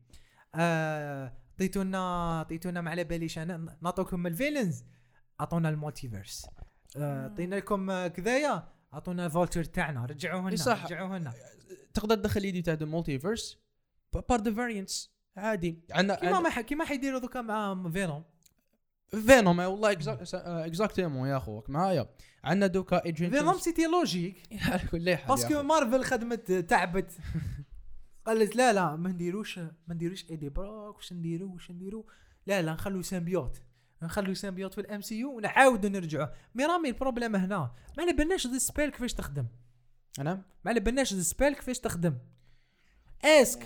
عطيتونا آه عطيتونا ما على باليش انا نعطوكم الفيلنز عطونا المالتيفيرس عطينا آه لكم كذايا عطونا فولتر تاعنا رجعوه لنا رجعوه لنا تقدر تدخل يدي تاع المالتيفيرس بار ذا فاريانتس عادي عندنا كيما ما كيما حيديروا دوكا مع فينوم فينوم والله اكزاكتومون يا خوك معايا عندنا دوكا ايجنت فينوم سيتي لوجيك كل حاجه باسكو مارفل خدمت تعبت قالت لا لا ما نديروش ما نديروش ايدي بروك واش نديرو واش نديرو لا لا نخلو سيمبيوت نخلو سيمبيوت في الام سي يو ونعاودوا نرجعوا مي رامي البروبليم هنا ما على بالناش ذا سبيل كيفاش تخدم انا ما على بالناش ذا سبيل كيفاش تخدم اسك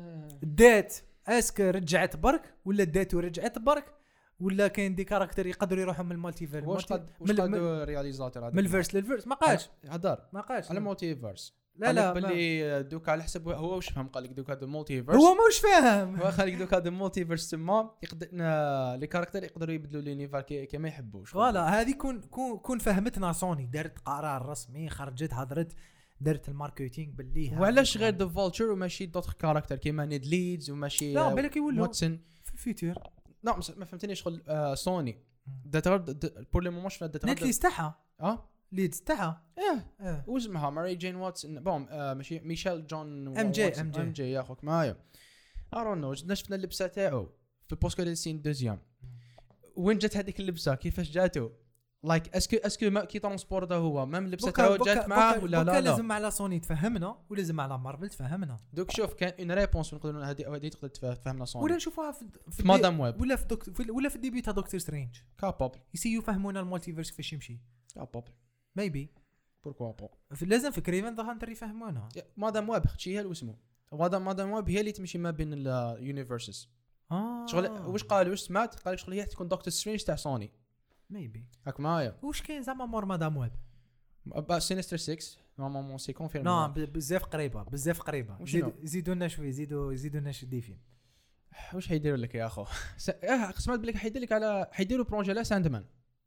دات اسك رجعت برك ولا دات ورجعت برك ولا كاين دي كاركتر يقدروا يروحوا من المالتيفيرس واش قد واش قد رياليزاتور هذا من الفيرس للفيرس ما قالش هدر ما قالش على المالتيفيرس لا لا باللي دوك على حسب هو واش فهم قال لك دوك هذا المالتيفيرس هو ماش فاهم هو خليك دوك هذا المالتيفيرس تما يقدر لي كاركتر يقدروا يبدلوا لينيفر كما يحبوش فوالا هذه كون كون فهمتنا سوني دارت قرار رسمي خرجت هضرت درت الماركتينغ باللي وعلاش غير ذا فولتشر وماشي دوت كاركتر كيما نيد ليدز وماشي لا بالك يولوا واتسون في الفيتور لا ما فهمتنيش شغل آه سوني داترد بور لي مومون شفنا داترد نيت ليست تاعها اه ليدز تاعها اه اه واسمها ماري جين واتسون بوم آه ماشي ميشيل جون ام جي ام جي ام جي يا اخوك معايا ارون نو شفنا اللبسه تاعو في بوسكو دي سين دوزيام وين جات هذيك اللبسه كيفاش جاتو لايك اسكو اسكو ما كي ترونسبورتا هو مام اللبسه تاعو جات معاه ولا لا لا لازم على سوني تفهمنا ولازم على مارفل تفهمنا دوك شوف كان اون ريبونس نقدروا هذه هذه تقدر تفهمنا سوني ولا نشوفوها في, في مادام ويب ولا في دكتور ولا في الديبي تاع دكتور سترينج كابابل يسي يفهمونا المالتيفيرس كيفاش يمشي كابابل ميبي بوركوا با لازم في كريفن ذا هانتر يفهمونا مادام ويب شي هي اسمه مادام مادام ويب هي اللي تمشي ما بين اليونيفرسز اه شغل واش قال واش سمعت قال لك شغل هي تكون دكتور سترينج تاع سوني ميبي هاك معايا واش كاين زعما مور مادام ويب با سينستر ستة نورمالمون سي كونفيرم لا بزاف قريبه بزاف قريبه زيدوا لنا شويه زيدوا زيدوا لنا شي فيلم واش حيديروا لك يا اخو اه سمعت بلي حيدير لك على حيديروا بروجي على ساندمان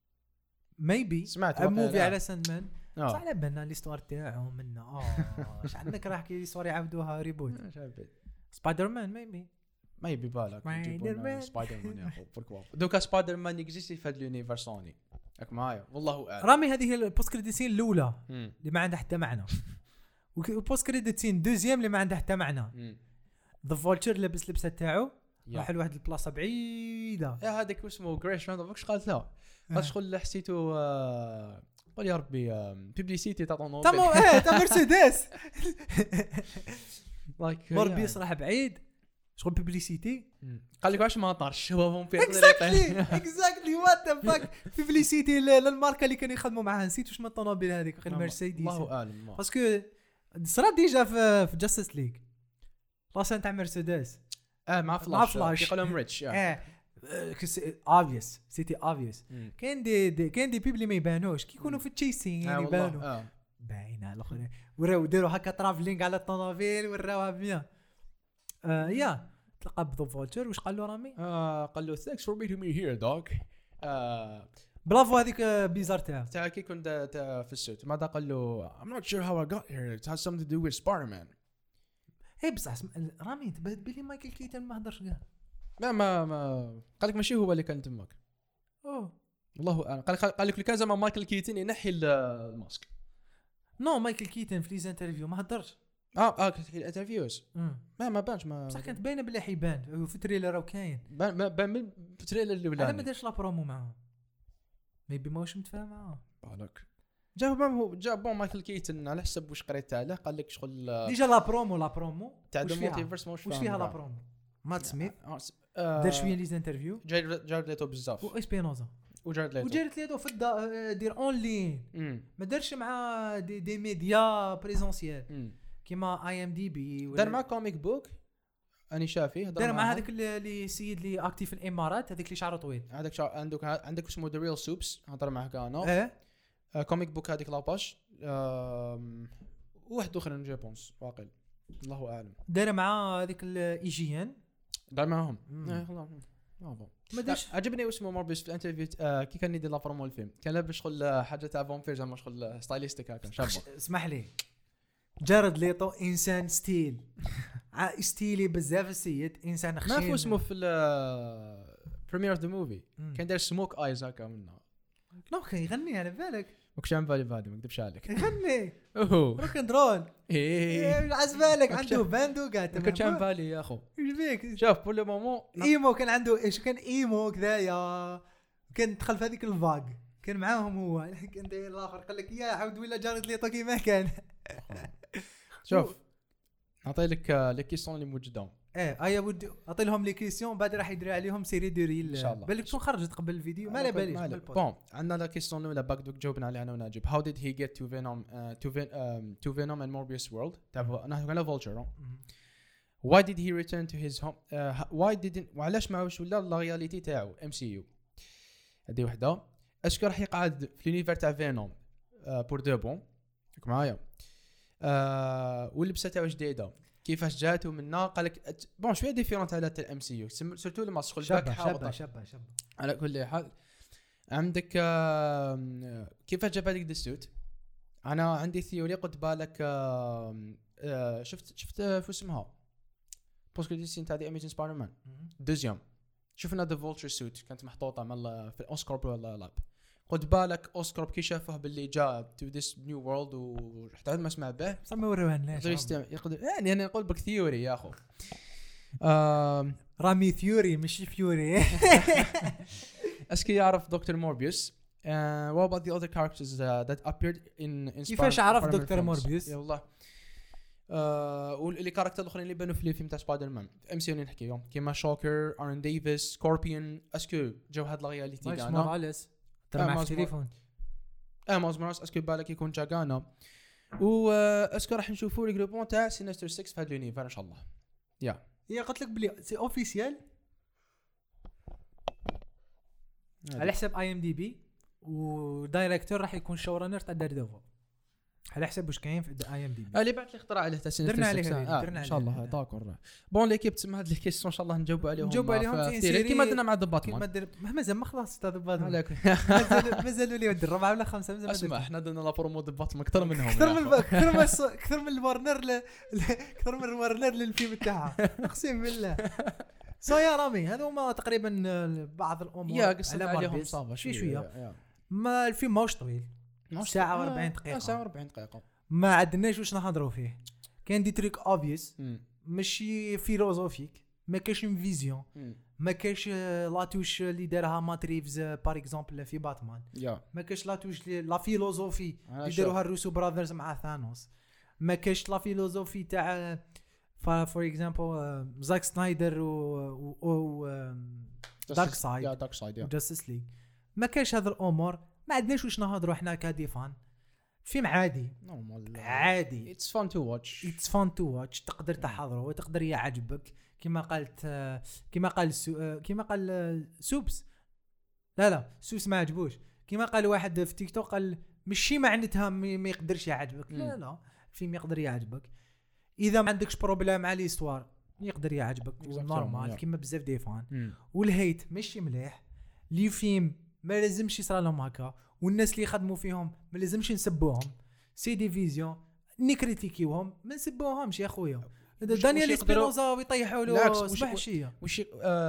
ميبي سمعت موفي على ساندمان صح على بالنا ليستوار تاعو منا اه شحال منك راح كي ليستوار يعاودوها ريبوت سبايدر مان ميبي ما يبي بالك سبايدر مان يا اخو بوركوا دوكا سبايدر مان اكزيستي في هاد اليونيفرس سوني راك معايا والله اعلم رامي هذه هي البوست كريديت سين الاولى اللي ما عندها حتى معنى والبوست كريديت سين دوزيام اللي ما عندها حتى معنى ذا فولتشر لابس لبسه تاعو راح لواحد البلاصه بعيده يا هذاك اسمه جريش راند واش قالت له اش شغل حسيتو قول يا ربي بيبليسيتي تاع طونوبيل تمام ايه تاع مرسيدس لايك مربيس راح بعيد شغل بيبليسيتي قال لك واش ما طارش هو فامبير اكزاكتلي اكزاكتلي وات ذا فاك بيبليسيتي للماركه اللي كانوا يخدموا معاها نسيت واش من الطوموبيل هذيك المرسيدس الله اعلم باسكو صرا ديجا في في جاستس ليغ لاسان تاع مرسيدس اه مع فلاش مع فلاش يقولهم ريتش اه اوبفيوس سيتي اوبفيوس كاين دي, دي كاين دي بيبلي ما يبانوش كي يكونوا في التشيسين يعني يبانوا باينه الاخر وراو ديروا هكا ترافلينغ على الطوموبيل وراوها بيان آه يا تلقى بذو فولتشر واش قال له رامي آه قال له thanks for meeting me here dog آه برافو هذيك بيزار تاع تاع كي كنت في السوت ماذا قال له I'm not sure how I got here it has something to do with Spider-Man هي بصح رامي تبان بلي مايكل كيتن ما هضرش كاع لا ما ما قال لك ماشي هو اللي كان تماك اوه والله اعلم قال قال لك كان زعما مايكل كيتن ينحي الماسك نو مايكل كيتن في ليز انترفيو ما هضرش اه اه في الانترفيوز ما ما بانش ما بصح كانت باينه بلي حيبان في التريلر راه كاين بان بان من التريلر اللي ولا ما دارش لا برومو معاه ميبي ما واش متفاهم معاه بالك جاب هو جاب بون مايكل كيتن على حسب واش قريت عليه قال لك شغل ديجا لا برومو لا برومو تاع المالتيفيرس واش فيها لا برومو مات سميث دار شويه ليز انترفيو جارد ليتو بزاف و اسبينوزا وجارد ليتو وجارد ليتو في دير اون لين ما دارش مع دي, دي ميديا بريزونسيال كيما اي ام دي بي دار مع كوميك بوك اني شافيه دار مع هذاك اللي سيد اللي اكتيف في الامارات هذاك اللي شعره طويل هذاك شعر عندك عندك اسمه ذا ريل سوبس هضر معه كانو ايه آه كوميك بوك هذيك لاباش واحد اخر من جابونس واقيل الله اعلم دار مع هذيك الايجيان دار معاهم ايه خلاص ما داش عجبني اسمه موربيس في الانترفيو آه كي كان يدير لا برومو الفيلم كان لابس شغل حاجه تاع فامبيرز زعما شغل ستايليستيك هكا شابه اسمح لي جارد ليطو انسان ستيل ستيلي بزاف السيد انسان خشين ما فو اسمه في بريمير اوف ذا موفي كان داير سموك ايز هكا منه نو كان يغني على بالك ماكش عم بالي بهذه ما نكذبش عليك يغني اوه روك اند رول ايه عز بالك عنده باندو قاعد ما كنتش عم بالي يا اخو ايش بيك شوف بول لو مومون ايمو كان عنده ايش كان ايمو كذايا كان دخل في هذيك الفاق كان معاهم هو كان داير الاخر قال لك يا عاود ولا جارد ليطو كيما كان شوف نعطي لك لي كيسيون اللي موجودين ايه ايا ودي اعطي لهم لي كيسيون بعد راح يدير عليهم سيري دو ريل ان شاء الله بالك تكون خرجت قبل الفيديو ما لا باليش بون عندنا لا كيسيون الاولى باك دوك جاوبنا عليها انا وناجب هاو ديد هي جيت تو فينوم تو تو فينوم اند موربيوس وورلد تاع نحن على فولتشر why did he return to his home uh, why didn't وعلاش ما واش ولا لا رياليتي تاعو ام سي يو هذه وحده اسكو راح يقعد في لونيفير تاع فينوم بور دو بون معايا آه ولبسه تاعو جديده كيفاش جاتو منا قال لك بون شويه ديفيرونت على تاع الام سي يو سورتو لما شغل باك شابه شابه شابه على كل حال عندك آه كيفاش جاب هذيك السوت انا عندي ثيوري قلت بالك آه آه شفت شفت في اسمها بوسكو دي سين تاع دي اميزين سبايدر مان دوزيام شفنا ذا فولتشر سوت كانت محطوطه مال في الاوسكارب ولا لاب قلت بالك اوسكارب كي شافه باللي جاء تو ذيس نيو وورلد ورحت عاد ما اسمع به صار ما وروهناش يقدر يعني انا نقول بك ثيوري يا اخو رامي ثيوري مش فيوري اسكي يعرف دكتور موربيوس what about the other characters that appeared in in كيفاش عرف دكتور موربيوس يا والله واللي كاركتر الاخرين اللي بانوا في الفيلم تاع سبايدر مان ام سي يو نحكيهم كيما شوكر ارن ديفيس سكوربيون اسكو جاو هاد لا رياليتي تاعنا موراليس ترى مع التليفون اه ماز موراليس اسكو بالك يكون جاغانا و اسكو راح نشوفوا لي جروبون تاع سينستر ستة في هاد لونيفر ان شاء الله يا هي قلت لك بلي سي اوفيسيال على حساب اي ام دي بي ودايركتور راح يكون شورانر تاع داردوفو على حسب واش كاين في اي ام دي بي اللي بعد لي اختراع عليه تاع سينستر درنا عليه آه درنا ان شاء الله داكور بون ليكيب تسمى هاد لي كيسيون ان شاء الله نجاوبوا عليهم نجاوبوا عليهم في سيري كيما درنا مع دباتمان مازال ما خلصت تاع دباتمان مازال مازالوا لي ود الرابعه ولا خمسه مازال اسمع احنا درنا لا برومو دباتمان اكثر منهم اكثر من اكثر من اكثر من الورنر اكثر من الورنر للفيلم تاعها اقسم بالله سو يا رامي هذو هما تقريبا بعض الامور يا قصه عليهم صافا شوي شويه ما الفيلم ماهوش طويل ساعه وأربعين دقيقه ساعه وأربعين دقيقه ما عندناش واش نهضروا فيه كاين دي تريك اوبفيس ماشي فيلوزوفيك ما كاينش فيزيون ما كاينش لاتوش اللي دارها ماتريفز بار اكزومبل في باتمان ما كاينش لاتوش لا فيلوزوفي اللي داروها الروسو براذرز مع ثانوس ما كاينش لا فيلوزوفي تاع فور اكزامبل زاك سنايدر و و دارك سايد يا دارك سايد يا جاستس ليج ما كاينش هذا الامور ما عندناش واش نهضروا احنا كديفان فيلم عادي نورمال عادي اتس فان تو واتش اتس فان تو واتش تقدر تحضره وتقدر يعجبك كما قالت كما قال سو كما قال سوبس لا لا سوبس ما عجبوش كما قال واحد في تيك توك قال ماشي معناتها ما يقدرش يعجبك لا لا الفيلم يقدر يعجبك اذا ما عندكش بروبليم مع ليستوار يقدر يعجبك نورمال كما بزاف دي فان والهيت ماشي مليح لي فيلم ما لازمش يصرا لهم هكا والناس اللي يخدموا فيهم ما لازمش نسبوهم سي دي فيزيون نكريتيكيوهم ما نسبوهمش يا خويا دانيال سبينوزا ويطيحوا له صباح الشيه وش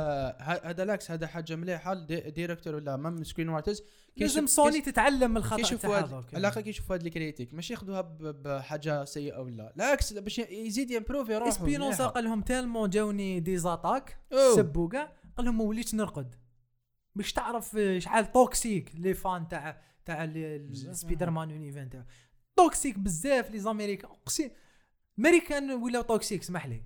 هذا لاكس هذا حاجه مليحه ديريكتور ولا مام سكرين رايترز لازم سوني تتعلم من الخطا تاعها علاقه كيشوفوا هاد الكريتيك ماشي ياخذوها بحاجه سيئه ولا لا باش يزيد يمبروفي روحه سبينوزا قال لهم تالمون جاوني دي زاتاك سبوا كاع قال لهم ما وليتش نرقد باش تعرف شحال توكسيك لي فان تاع تاع سبايدر مان يونيفان تاع توكسيك بزاف لي زاميريكان اقسم امريكان ولا توكسيك اسمح لي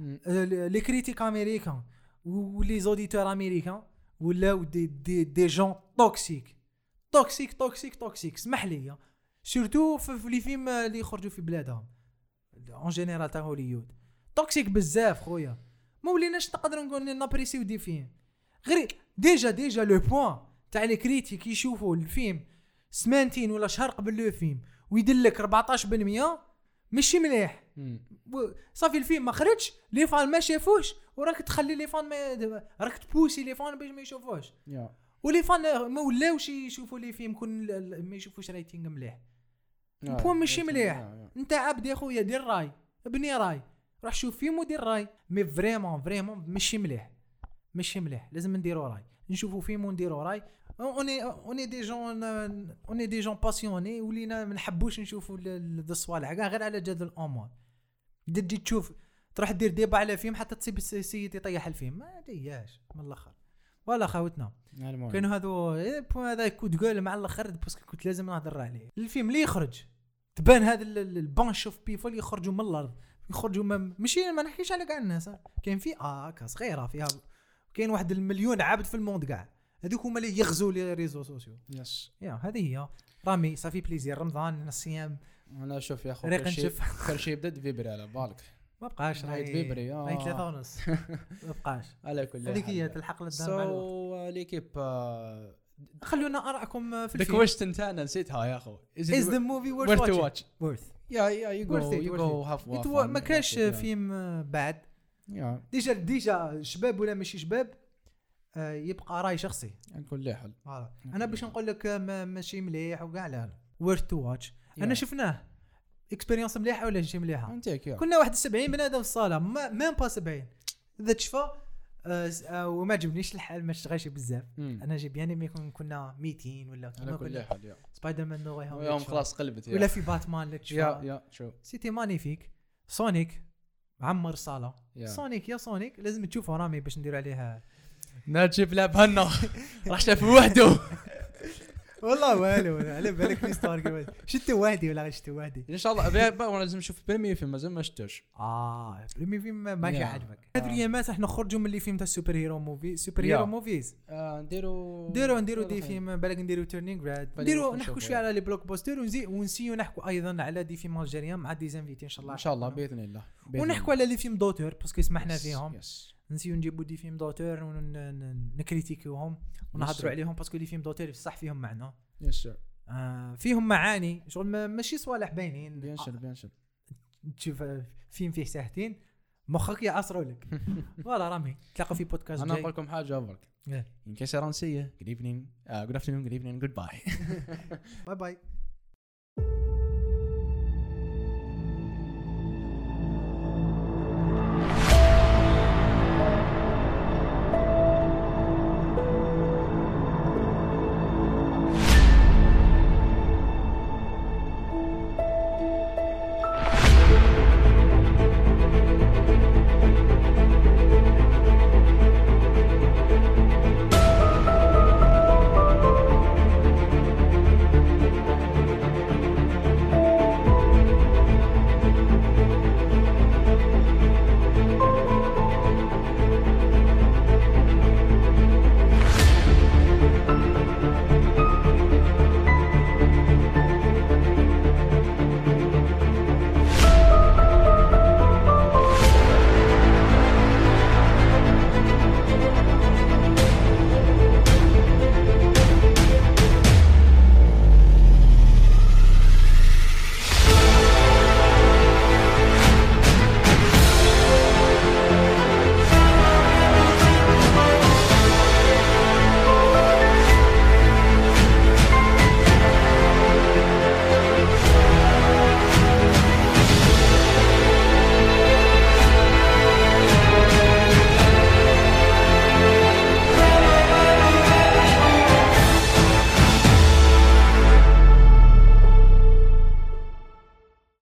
لي كريتيك امريكان ولي زوديتور امريكان ولا دي دي دي جون توكسيك توكسيك توكسيك توكسيك اسمح لي سورتو في لي فيلم اللي يخرجوا في بلادهم اون جينيرال تاع هوليود توكسيك بزاف خويا ما وليناش نقدروا نقول نابريسيو دي فيلم غير ديجا ديجا لو بوين تاع لي كريتيك يشوفوا الفيلم سمانتين ولا شهر قبل لو فيلم ويدلك أربعطاش بالمية ماشي مليح. صافي الفيلم ما خرجش لي فان ما شافوش وراك تخلي لي فان ما راك تبوسي لي فان باش ما يشوفوش yeah. ولي فان ما ولاوش يشوفوا لي فيلم كون ما يشوفوش رايتينغ مليح yeah. البوان ماشي مليح yeah, yeah. انت عبد يا خويا دير راي ابني راي روح شوف فيلم ودير راي مي فريمون فريمون ماشي مليح ماشي مليح لازم نديروا راي نشوفوا فيلم ونديروا راي اوني اوني دي جون اوني دي جون باسيوني ولينا ما نحبوش نشوفوا الصوالح كاع غير على جد الامور تجي تشوف تروح دير ديبا على فيلم حتى تصيب السيد يطيح الفيلم ما دياش من الاخر ولا خاوتنا كانوا هذو هذا كنت تقول مع الاخر باسكو كنت لازم نهضر عليه الفيلم اللي يخرج تبان هذا البانش اوف بيبل يخرجوا من الارض يخرجوا ماشي ما نحكيش على كاع الناس كاين في اه صغيره فيها كاين واحد المليون عبد في الموند كاع هذوك هما اللي يغزوا لي ريزو سوسيو يس يا هذه هي رامي صافي بليزير رمضان الصيام انا شوف يا اخو كل شيء يبدا فيبري على بالك ما بقاش راهي فيبري راهي ثلاثة ونص ما بقاش على كل حال هذيك هي تلحق للدار مع الوقت سو ليكيب خلونا ارائكم في الفيلم الكويشن تاعنا نسيتها يا اخو is the movie worth to watch worth يا يا يو جو يو جو هاف ما كاش فيلم بعد ديجا ديجا شباب ولا ماشي شباب يبقى راي شخصي نقول له حل انا باش نقول لك ماشي مليح وكاع لا worth to watch انا شفناه اكسبيريونس مليحه ولا شي مليحه كنا واحد سبعين بنادم في الصاله ما با سبعين اذا تشفى أه وما عجبنيش الحال ما اشتغلش بزاف انا جيب يعني مي كنا ميتين ولا كما كنا سبايدر مان نو واي هوم يوم خلاص قلبت ولا في باتمان لك شو يا يا شو سيتي مانيفيك سونيك عمر الصاله سونيك يا سونيك لازم تشوفه رامي باش ندير عليها نجيب لعب هنا راح شاف وحده والله والو على بالك نستار شفت وحدي ولا شفت وحدي ان شاء الله وانا لازم نشوف بريمي فيلم مازال ما شفتوش اه بريمي فيلم ماشي عاجبك هذه الايامات احنا نخرجوا من اللي فيلم تاع السوبر هيرو موفي سوبر هيرو موفيز نديروا نديروا نديروا دي فيلم بالك نديروا تيرنينغ راد نديروا نحكوا شويه على لي بلوك بوستر ونزي ونسيو نحكوا ايضا على دي فيلم الجيريان مع دي زانفيتي ان شاء الله ان شاء الله باذن الله ونحكوا على لي فيلم دوتور باسكو سمحنا فيهم نسيو نجيبوا دي فيلم دوتور ونكريتيكيوهم ونهضروا عليهم باسكو لي فيلم دوتور صح فيهم معنى يس آه فيهم معاني شغل ماشي صوالح باينين بيان سور بيان سور تشوف فيلم فيه ساعتين مخك يعصروا لك فوالا رامي تلاقوا في بودكاست جاي انا نقول لكم حاجه برك ان كيس رانسيه good evening uh, good afternoon good evening goodbye باي باي